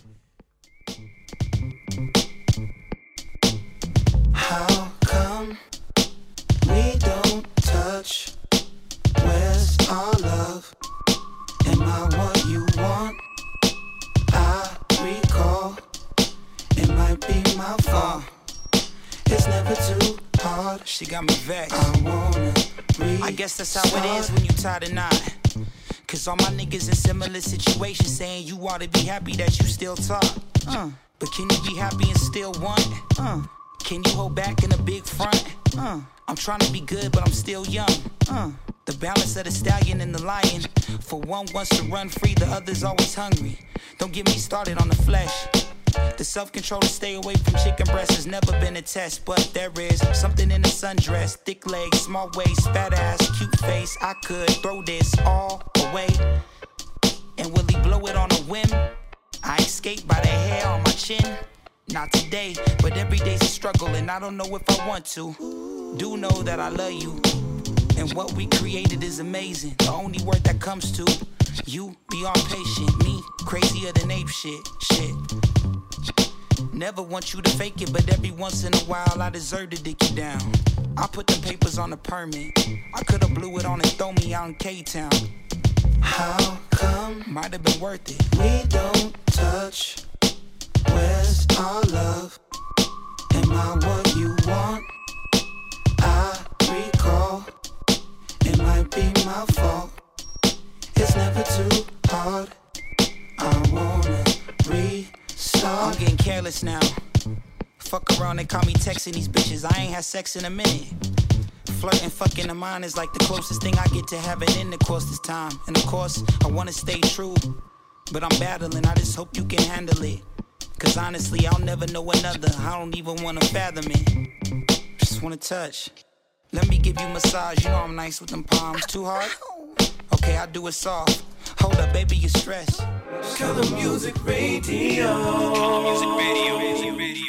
W: How come we don't touch? Where's our love? Am I what you want? I recall it might be my fault. It's never too hard.
Q: She got me vexed.
W: I wanna
Q: I guess that's how it is when you tie the knot. Cause all my niggas in similar situations saying you ought to be happy that you still talk. But can you be happy and still want? Can you hold back in a big front? I'm trying to be good, but I'm still young. The balance of the stallion and the lion. For one wants to run free, the other's always hungry. Don't get me started on the flesh. The self-control to stay away from chicken breast has never been a test, but there is something in the sundress. Thick legs, small waist, fat ass, cute face. I could throw this all away. And will he blow it on a whim? I escape by the hair on my chin. Not today, but every day's a struggle and I don't know if I want to. Do know that I love you. And what we created is amazing. The only word that comes to you, beyond patient. Me, crazier than ape shit.
W: Never want you to fake it, but every once in a while I deserve to dick you down. I put the papers on the permit. I could've blew it on and throw me out in K-Town. How come? Might have been worth it. We don't touch. Where's our love? Am I what you want? I recall. It might be my fault. It's never too hard. I wanna restart. I'm getting careless now. Fuck around, they call me texting these bitches. I ain't had sex in a minute. Flirting, fucking in mine is like the closest thing I get to having intercourse this time. And of course, I wanna stay true, but I'm battling, I just hope you can handle it. Cause honestly, I'll never know another. I don't even wanna fathom it. Just wanna touch. Let me give you a massage, you know I'm nice with them palms. Too hard? Okay, I'll do it soft. Hold up, baby, you're stressed. Color Music Radio. Color Music Radio.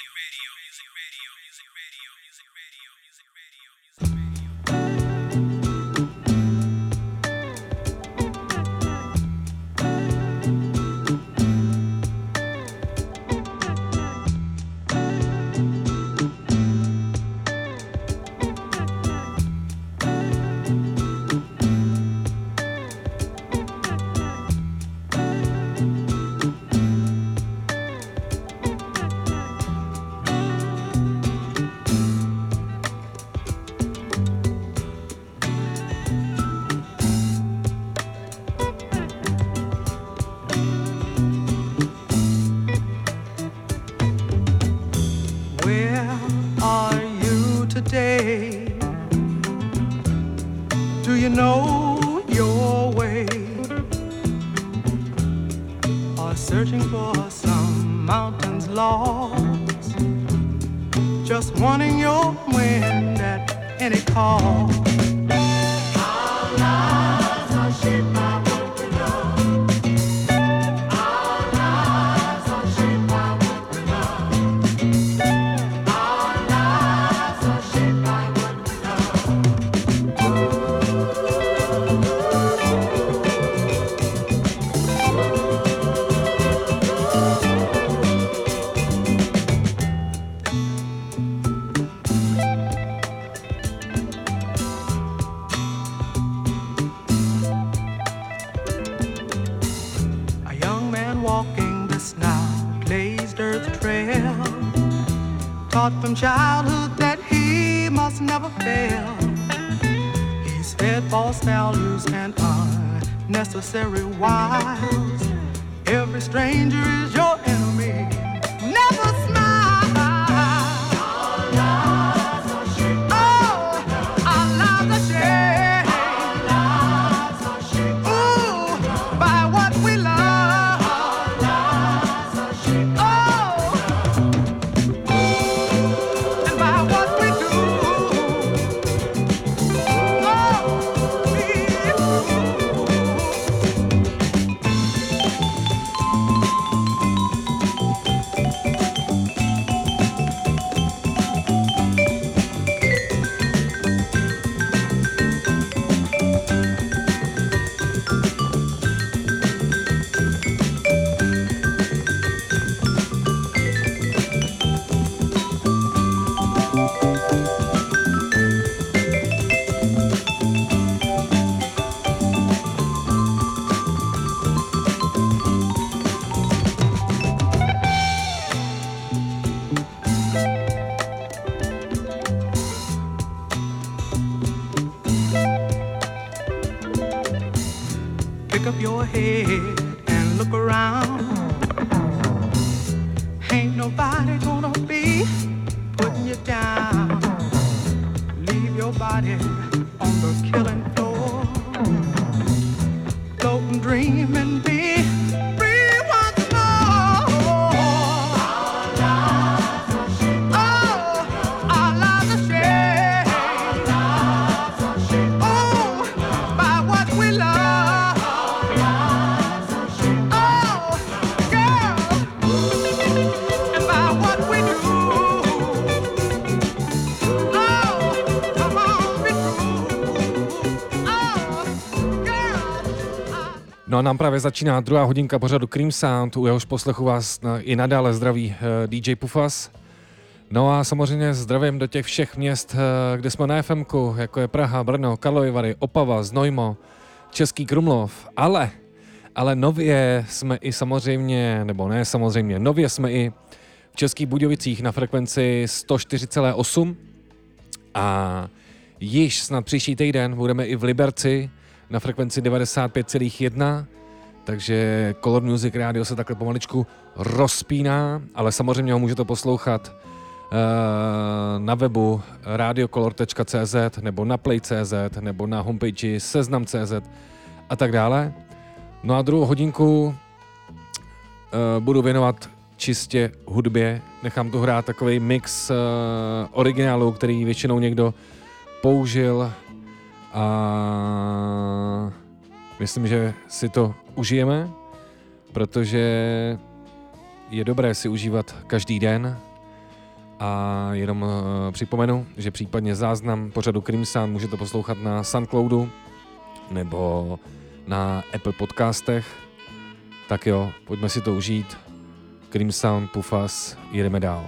C: From childhood that he must never fail. He's fed false values and unnecessary wiles. Every stranger is your enemy. Never smile. Our lives are shaped. Oh, our lives are shaped. Our lives are shaped. Ooh, by what we love. Our lives are shaped. Oh. Pick up your head and look around. Ain't nobody gonna be putting you down. Leave your body on the killing floor. Float and dream and be free once more. Our lives are shaped. Oh, our lives are shaped. Our lives are shaped. Oh, by what we love.
B: No a nám právě začíná druhá hodinka pořadu Cream Sound, u jehož poslechu vás i nadále zdraví DJ Pufas. No a samozřejmě zdravím do těch všech měst, kde jsme na FMku, jako je Praha, Brno, Karlovy Vary, Opava, Znojmo, Český Krumlov, ale nově jsme i samozřejmě, nebo ne samozřejmě, nově jsme i v Českých Budějovicích na frekvenci 104,8 a již snad příští týden budeme i v Liberci na frekvenci 95,1, takže Color Music Radio se takhle pomaličku rozpíná, ale samozřejmě ho můžete poslouchat na webu radiocolor.cz nebo na play.cz nebo na homepage seznam.cz a tak dále. No a druhou hodinku budu věnovat čistě hudbě. Nechám tu hrát takový mix originálů, který většinou někdo použil a myslím, že si to užijeme, protože je dobré si užívat každý den. A jenom připomenu, že případně záznam pořadu Cream Sound můžete poslouchat na Soundcloudu nebo na Apple podcastech. Tak jo, pojďme si to užít. Cream Sound, Pufas, jedeme dál.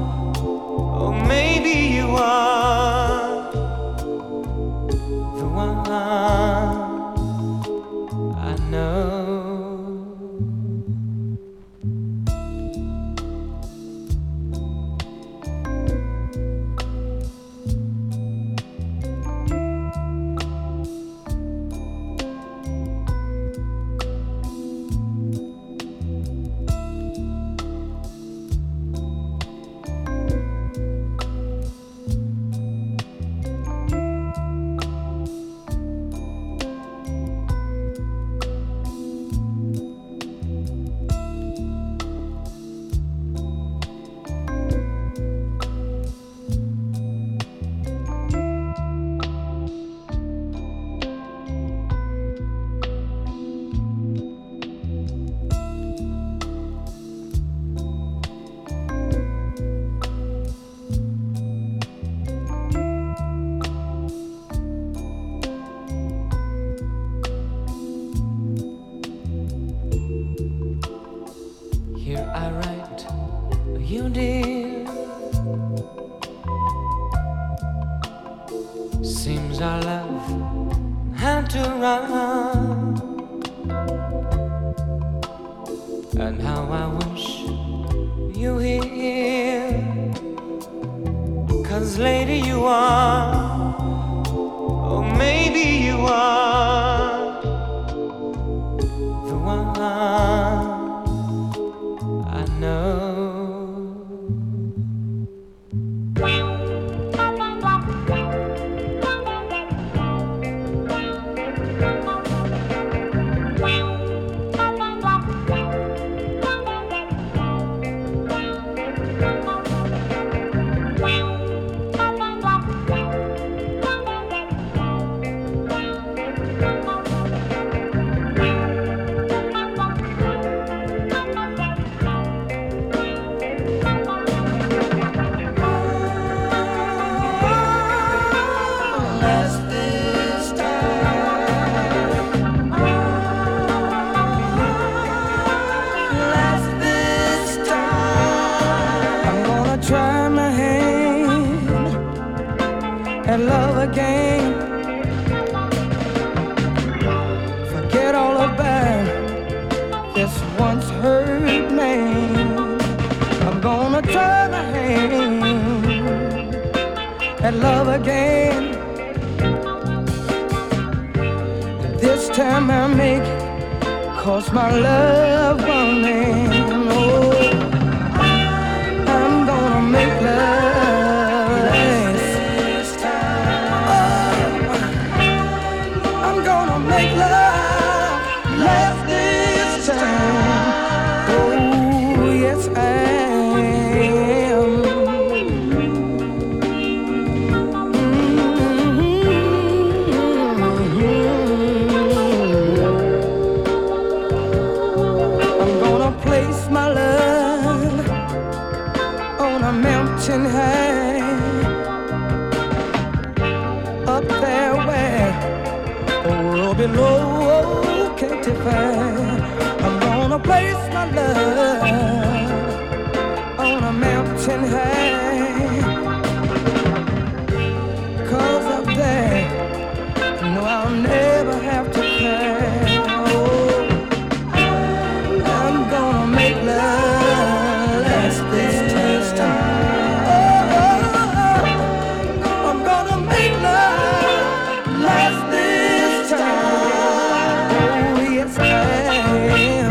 D: The one
R: Seems our love had to run, and how I wish you were here. 'Cause lady you are, or maybe you are the one I know.
C: Love again. Forget all about this once hurt man. I'm gonna try my hand at love again. This time I make it, 'cause my love won't end. Oh, I'm gonna make love. Make love last this time. Oh, yes, I am. I'm gonna place my love on a mountain high, up there where the world below can't define. I'm gonna place my love on a mountain high, 'cause up there, no, I'll never have to cry. Oh, I'm gonna make love last this time. Oh, I'm gonna make love last this time. Oh, yes, I am.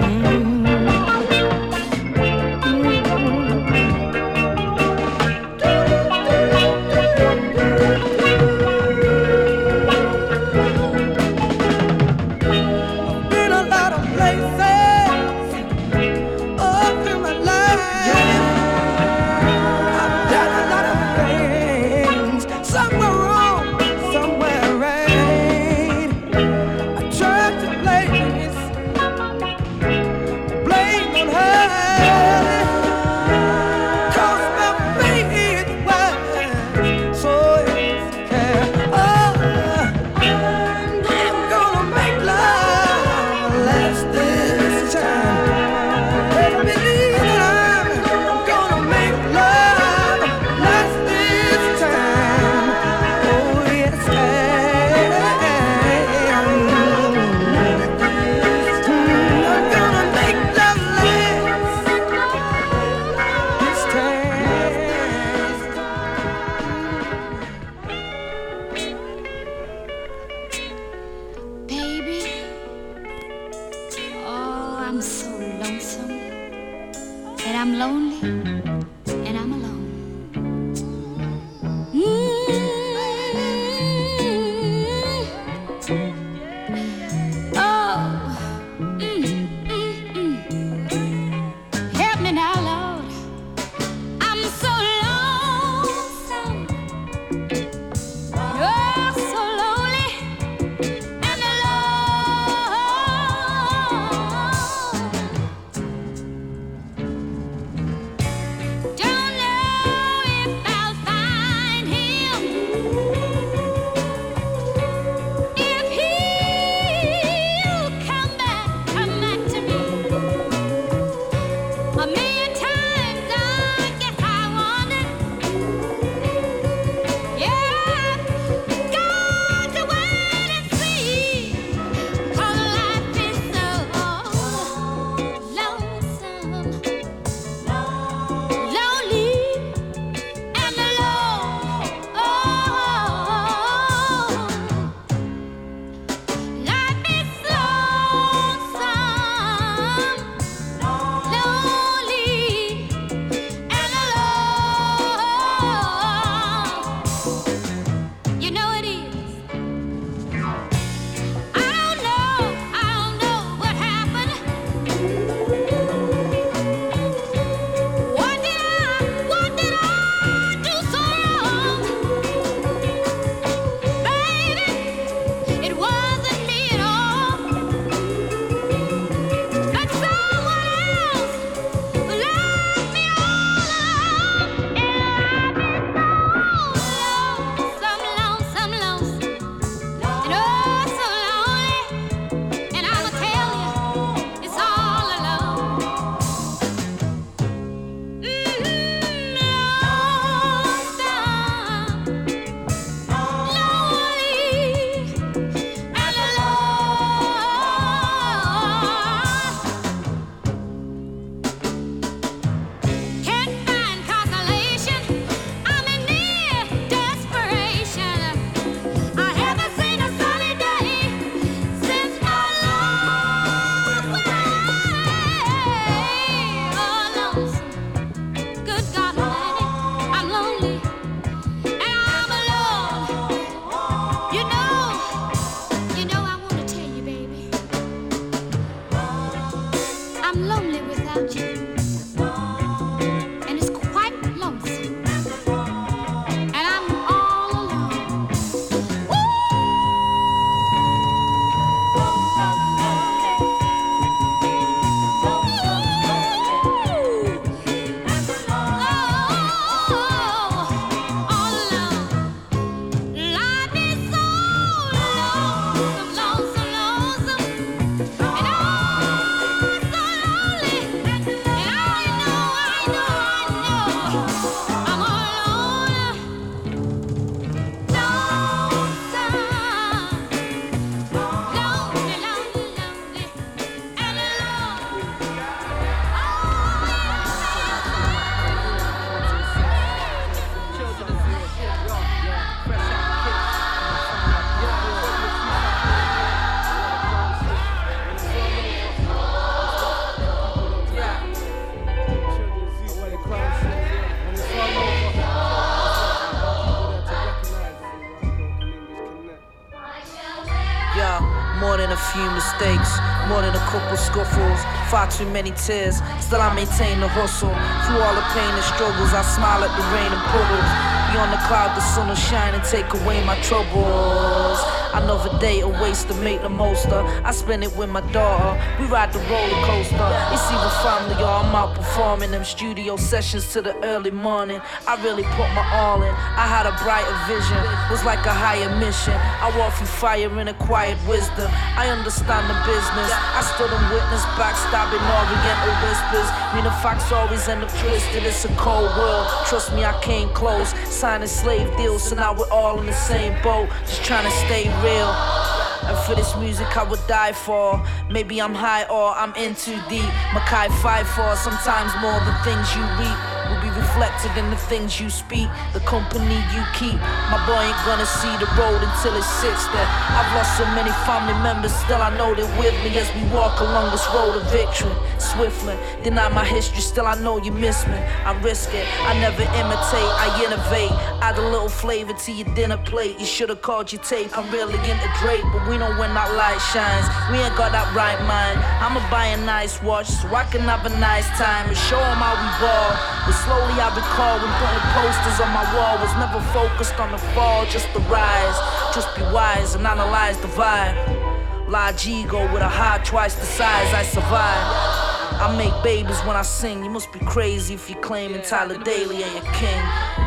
R: few mistakes, more than a couple scuffles, far too many tears. Still I maintain the hustle. Through all the pain and struggles, I smile at the rain and puddles. Beyond the cloud, the sun will shine and take away my troubles. Another day a waste to make the most of. I spend it with my daughter. We ride the roller coaster. It's even family, y'all. I'm out performing them studio sessions to the early morning. I really put my all in. I had a brighter vision. Was like a higher mission. I walk through fire in acquired wisdom. I understand the business. I stood and witnessed backstabbing oriental whispers. Mean the facts always end up twisted. It's a cold world. Trust me, I came close. Signing slave deals, so now we're all in the same boat. Just trying to stay real. And for this music I would die for. Maybe I'm high or I'm in too deep. Mackay 5-4, sometimes more the things you reap will be reflected in the things you speak, the company you keep. My boy ain't gonna see the road until it's 60. I've lost so many family members, still I know they're with me as we walk along this road of victory. Swiftly, deny my history, still I know you miss me. I risk it, I never imitate, I innovate. Add a little flavor to your dinner plate. You should've called your tape, I'm really into Drake, but we know when that light shines. We ain't got that right mind. I'ma buy a nice watch so I can have a nice time and show them how we ball. But slowly I recall when putting posters on my wall was never focused on the fall, just the rise. Just be wise and analyze the vibe. Large ego with a heart twice the size, I survive. I make babies when I sing. You must be crazy if you're claiming Tyler Daly ain't your king.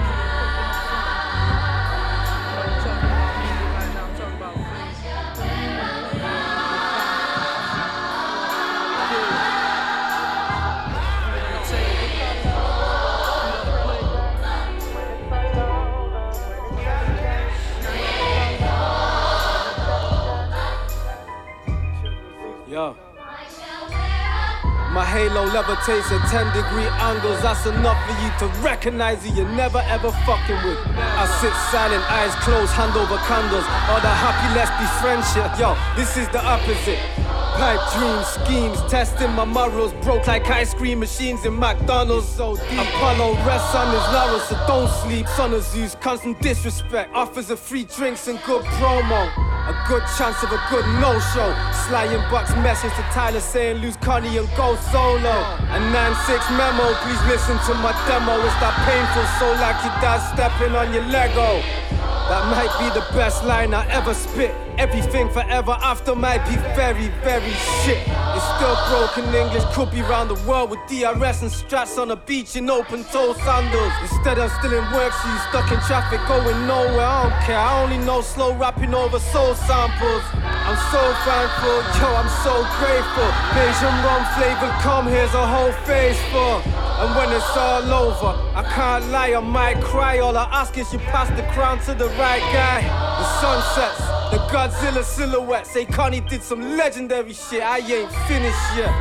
S: Yo. My halo levitates at 10-degree angles. That's enough for you to recognize who you're never ever fucking with. I sit silent, eyes closed, hand over candles. All the happy, let's be friendship. Yo, this is the opposite. Pipe dreams, schemes, testing my morals. Broke like ice cream machines in McDonald's. So deep. Apollo rests on his laurels, so don't sleep. Son of Zeus, constant disrespect. Offers of free drinks and good promo. A good chance of a good no-show. Sly inbox message to Tyler saying lose Connie and go solo. A 9-6 memo, please listen to my demo. It's that painful, so like your dad stepping on your Lego. That might be the best line I ever spit. Everything forever after might be very, very shit. It's still broken English, could be round the world with DRS and strats on a beach in open-toe sandals. Instead I'm still in work, so you stuck in traffic going nowhere. I don't care, I only know slow rapping over soul samples. I'm so thankful, yo, I'm so grateful. Asian rum flavored, come here's a whole face full. And when it's all over, I can't lie, I might cry. All I ask is you pass the crown to the right guy. The sunsets, the Godzilla silhouette. Say Connie did some legendary shit, I ain't finished yet.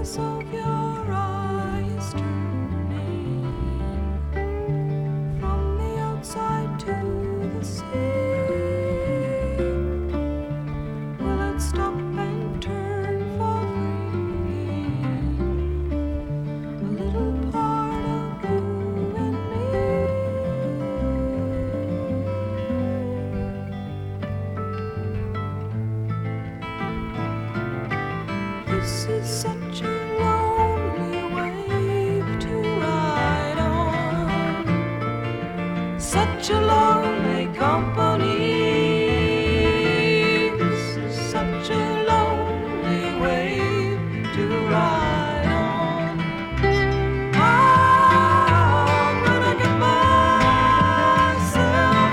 R: focus of your eyes turning from the outside to the sea. Will it stop and turn for free? A little part of you and me. This is such a lonely wave to ride on, such a lonely company. This is such a lonely wave to ride on. I'm gonna get myself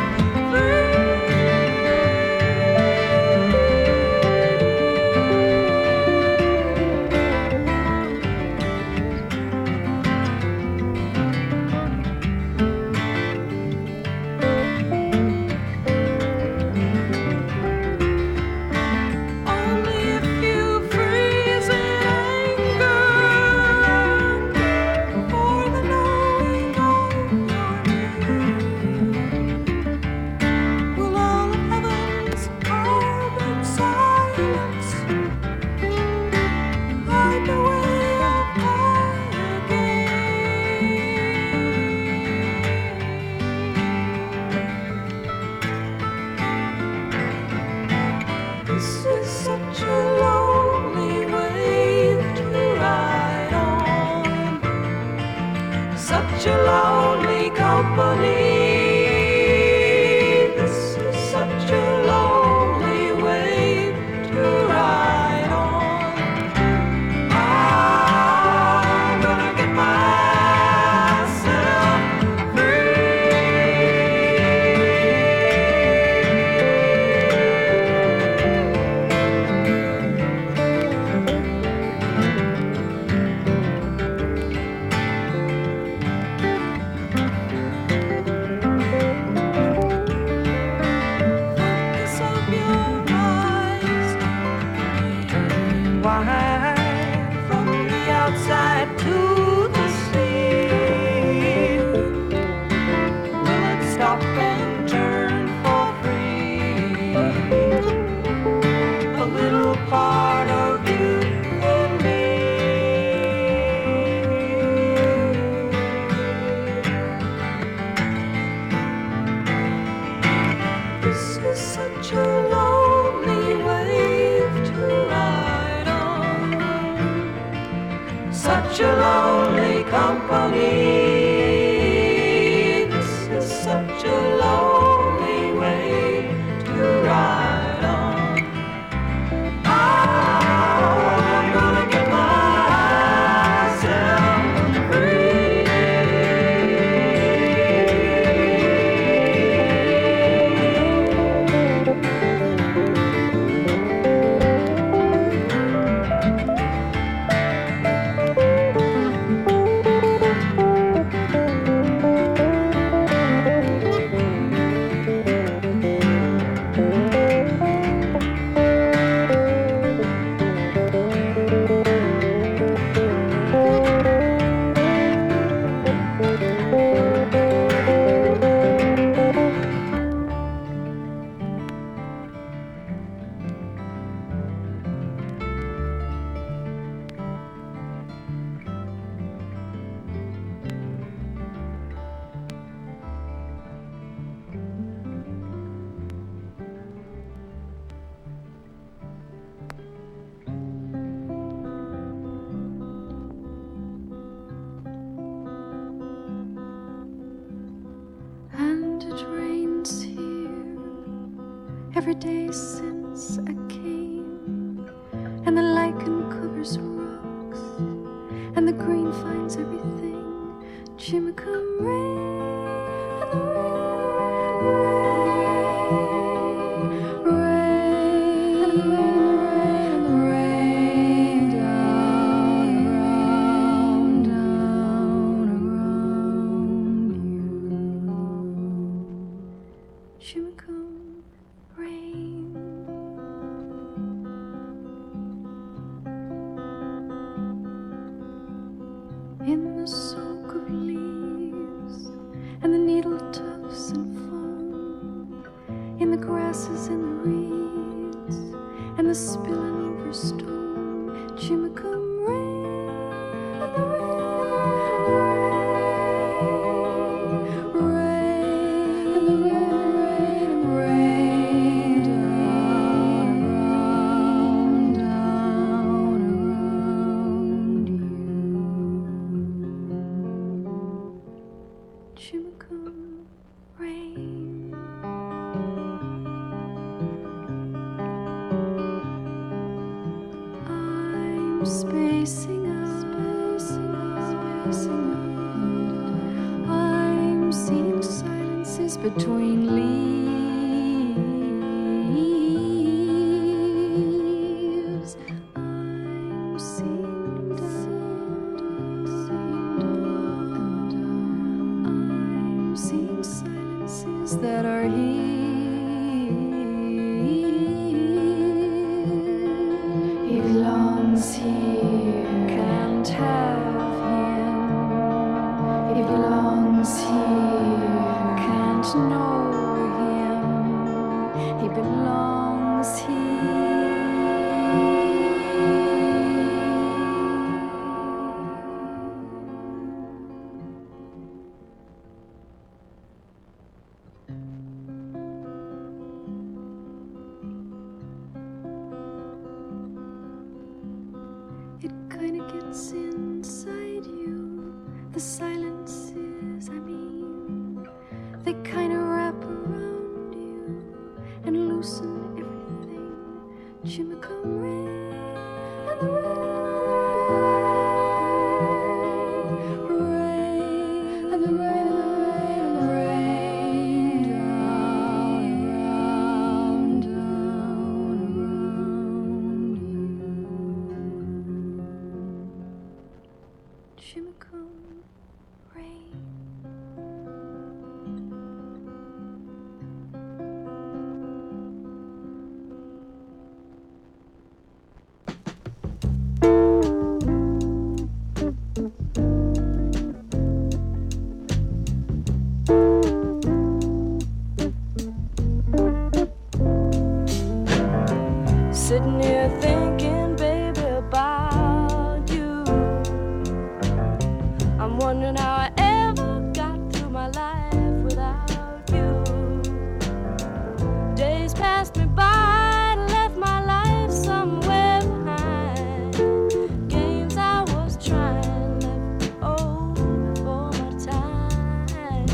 R: only if you freeze in anger for the knowing of your name. Will all of heaven's carbon silence hide the way of fire again? This is such a lonely wave to ride on, such a lonely company. This is such a lonely wave to ride on. I'm gonna get myself focus of your eyes turning wide from the outside to the sea. Will it stop and turn for free? A little part of you and me. This is such a lonely wave to ride on, such a lonely company. This is such a lonely wave to ride on. I'm gonna get myself and it rains here every day since I came, and the lichen covers rocks, and the green finds everything. Chimicum rain, and the rain down around you. Chimicum rain.
D: the soak of leaves and the needle tufts and foam, in the grasses and the reeds and the spilling over stone. Chimicum rain, and the rain, and the rain down, down around you. Chimicum rain. I'm spacing out, spacing out. I'm seeing silences between leaves. I'm seeing I'm seeing silences that are here. He belongs here, can't have him. He belongs here, can't know him. He belongs It kinda gets inside you. The silences, I mean, they kinda wrap around you and loosen everything. Chimicum rain, and the rain, and the rain, and the rain, down, down around you. Chimicum rain. Sitting here thinking, baby, about you. I'm wondering how I ever got through my life without you. Days passed me by, left my life somewhere behind. Games I was trying left me old before my time.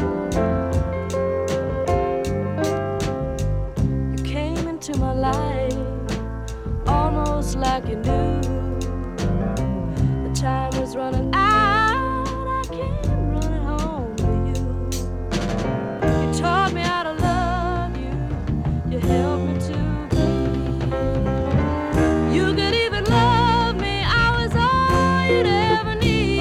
D: You came into my life almost like you knew the time was running out. I came running home to you. You taught me how to love you. You helped me to believe you could even love me. I was all you'd ever need.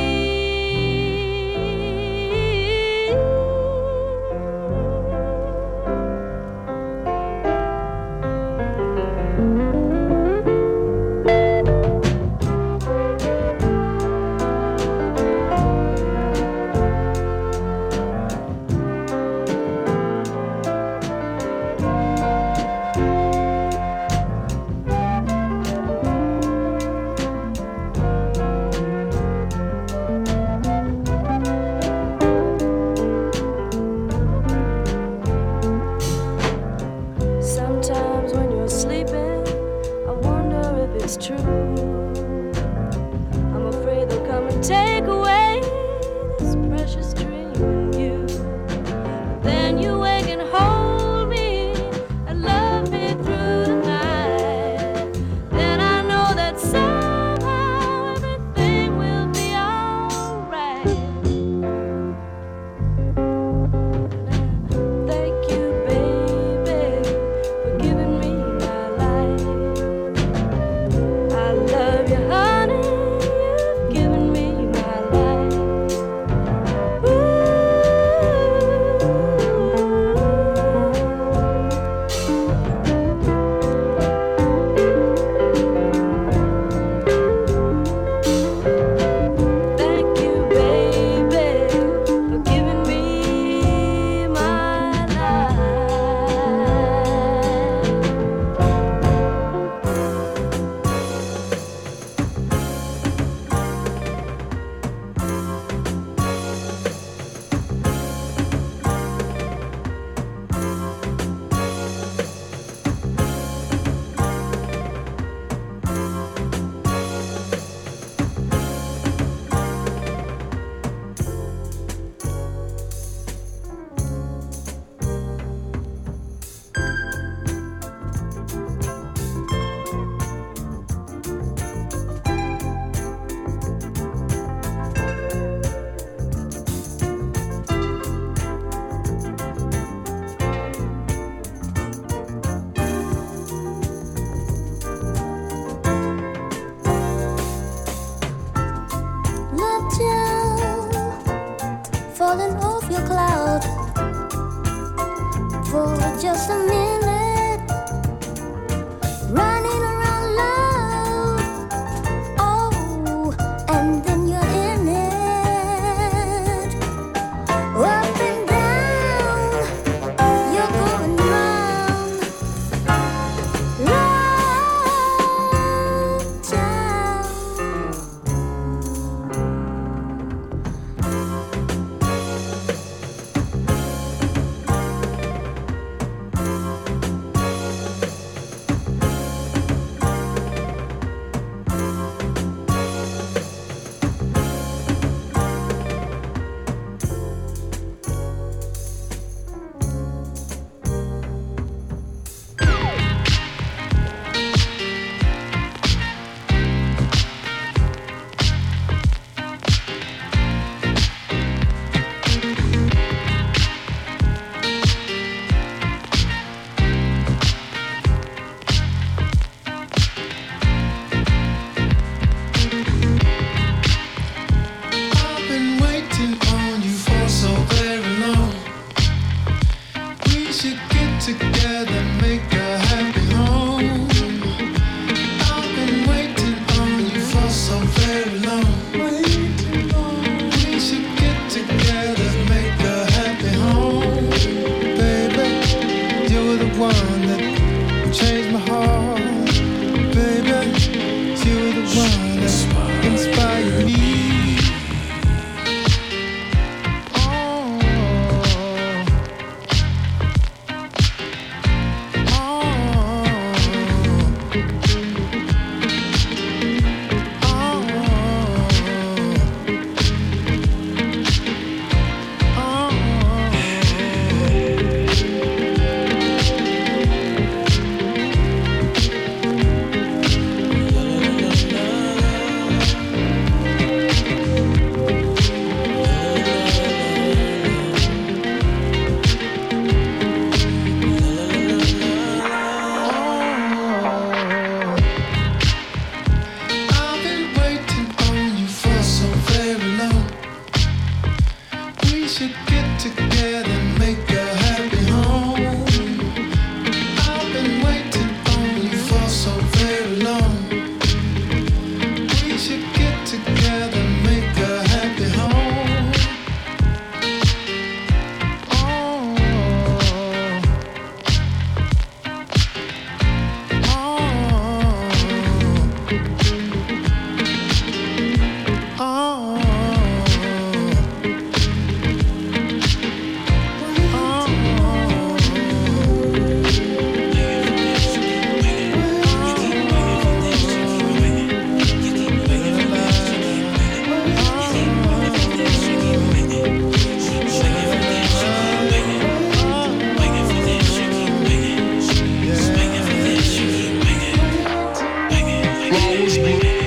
E: always be.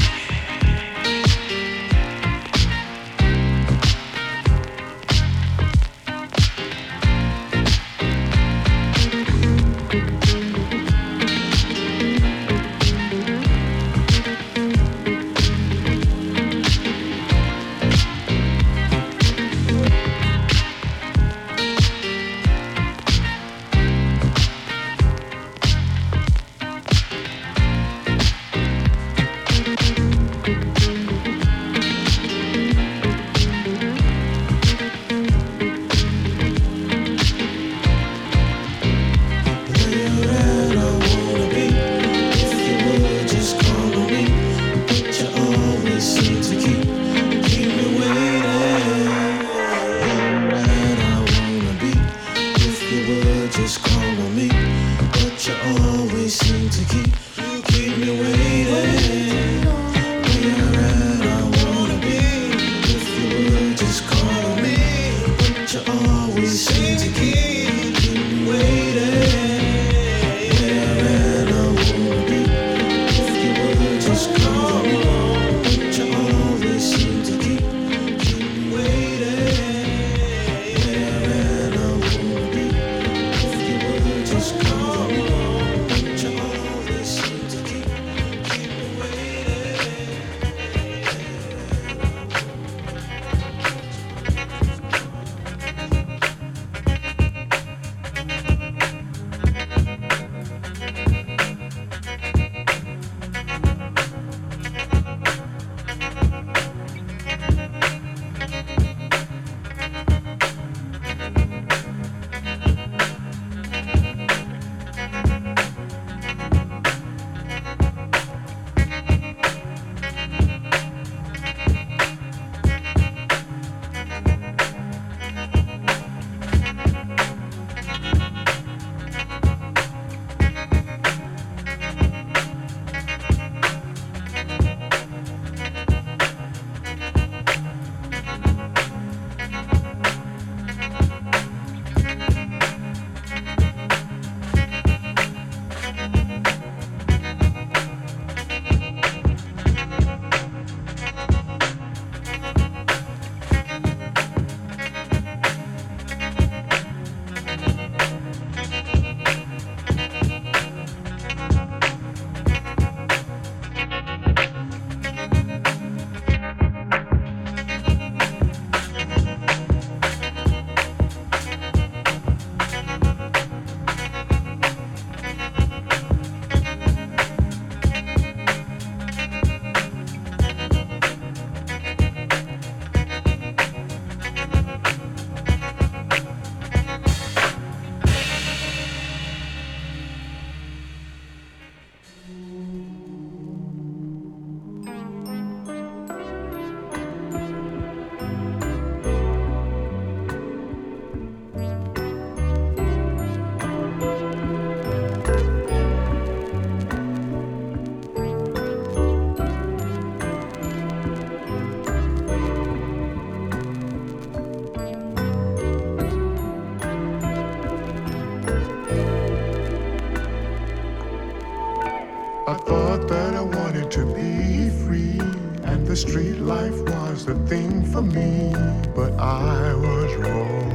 H: I thought that I wanted to be free, and the street life was the thing for me, but I was wrong.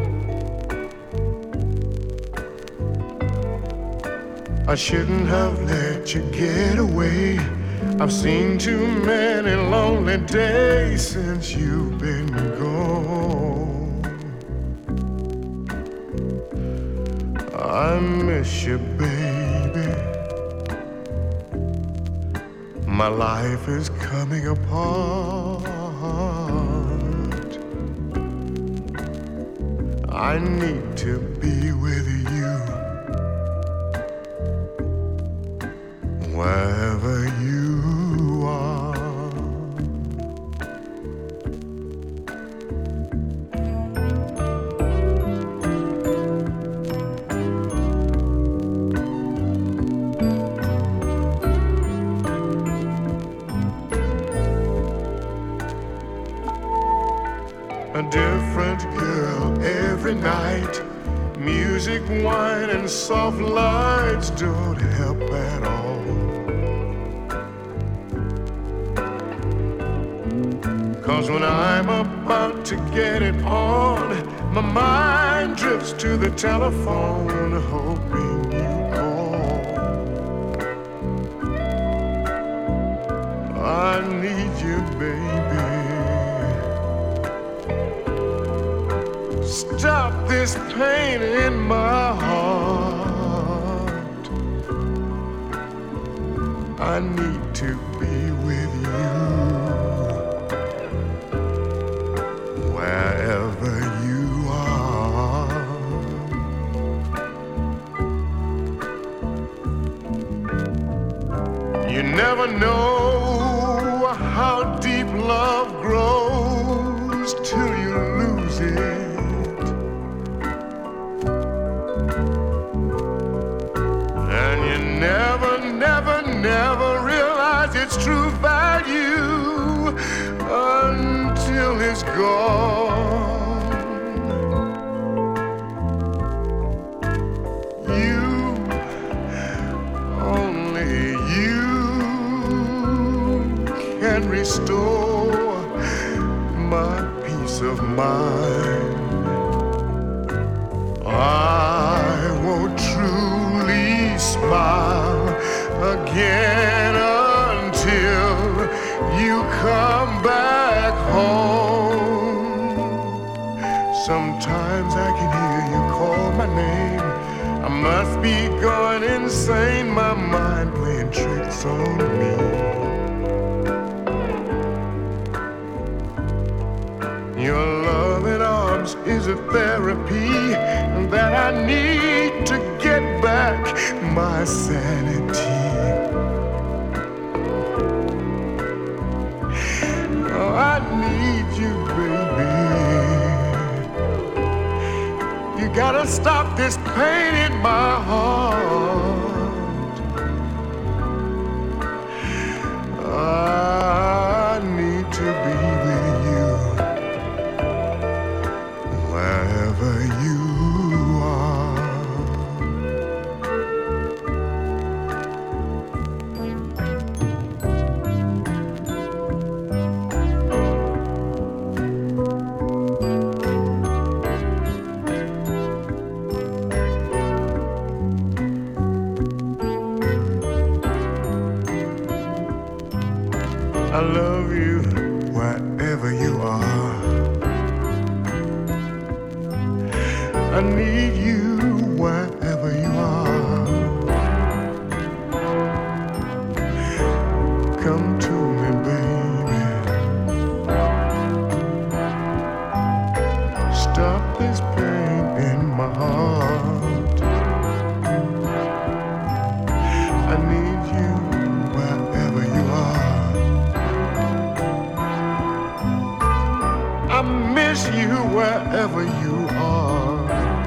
H: I shouldn't have let you get away. I've seen too many lonely days since you've been gone. I miss you, baby. My life is coming apart. I need to be with you wherever you are. A different girl every night. Music, wine, and soft lights don't help at all. 'Cause when I'm about to get it on, my mind drifts to the telephone, hoping you call. I need you, baby. Stop this pain in my heart. I need to be with you wherever you are. You never know how deep love grows till you lose it. Never realize its true value until it's gone. You, only you can restore my peace of mind. I won't truly smile again until you come back home. Sometimes I can hear you call my name. I must be going insane, my mind playing tricks on me. Your loving arms is a therapy that I need to get back my sanity. Oh, I need you, baby. You gotta stop this pain in my heart. I need to be with you wherever you are. I love you wherever you are. I need you wherever you are. Come to me, baby. Stop this pain in my heart. I need you wherever you are. I miss you wherever you are.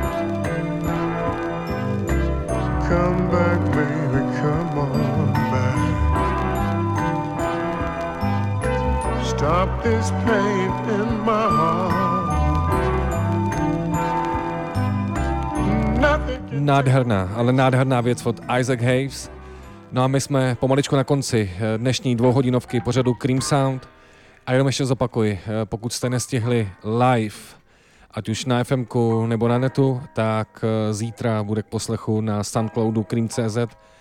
H: Come back, baby, come on back. Stop this pain in my heart. Nothing.
B: Nádherná, ale nádherná věc od Isaac Hayes. No a my jsme pomaličku na konci dnešní 2hodinovky pořadu Cream Sound. A jenom ještě zopakuji, pokud jste nestihli live, ať už na FMku nebo na netu, tak zítra bude k poslechu na Soundcloudu Cream.cz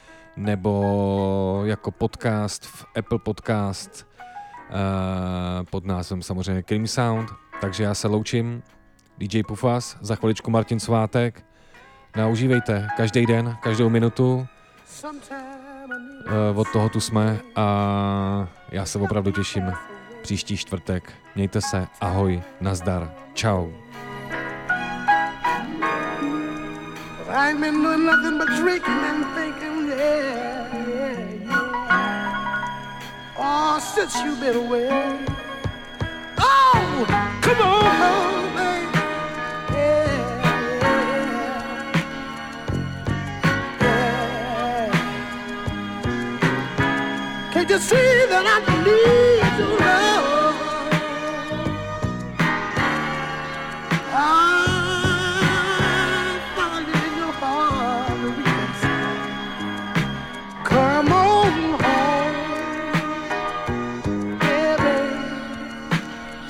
B: nebo jako podcast v Apple Podcast pod názvem samozřejmě Cream Sound. Takže já se loučím, DJ Pufas, za chviličku Martin Svátek. No a užívejte každý den, každou minutu. Od toho tu jsme a já se opravdu těším příští čtvrtek. Mějte se, ahoj, nazdar, čau.
C: I ain't been doing nothing but drinking and thinking, yeah. Oh, since you've been away. Oh, come on, baby. Yeah. Can't you see that I need your love? Come on home, baby.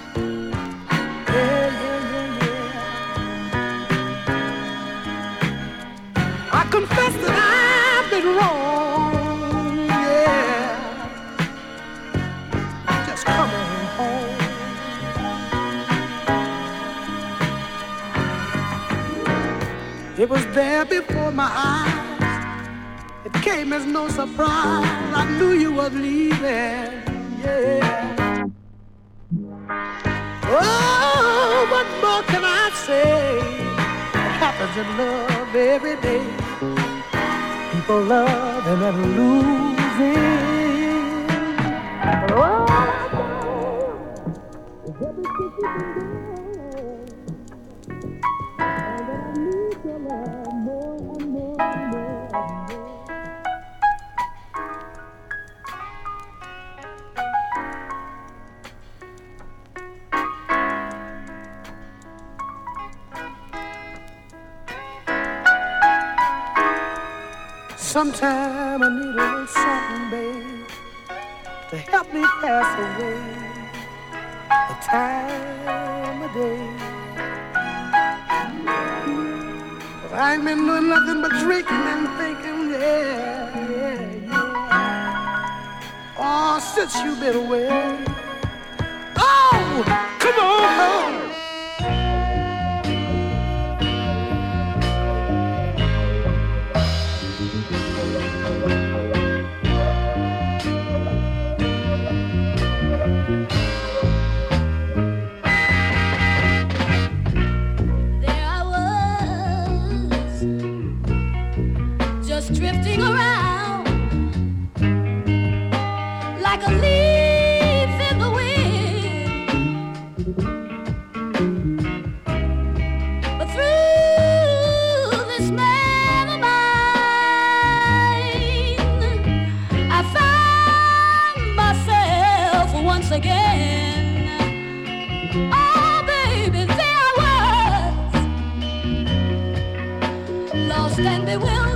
C: It was there before my eyes. It came as no surprise. I knew you was leaving. Yeah. Oh, what more can I say? It happens in love every day. People loving and losing. Oh, sometime I need a little something, babe, to help me pass away the time of day. 'Cause I ain't been doing nothing but drinking and thinking, yeah. Oh, since you've been away. Oh, come on.
D: Drifting around like a leaf in the wind, but through this man of mine, I found myself once again. Oh, baby, there I was, lost and bewildered.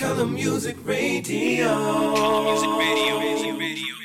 E: Color Music Radio. Color Music Radio.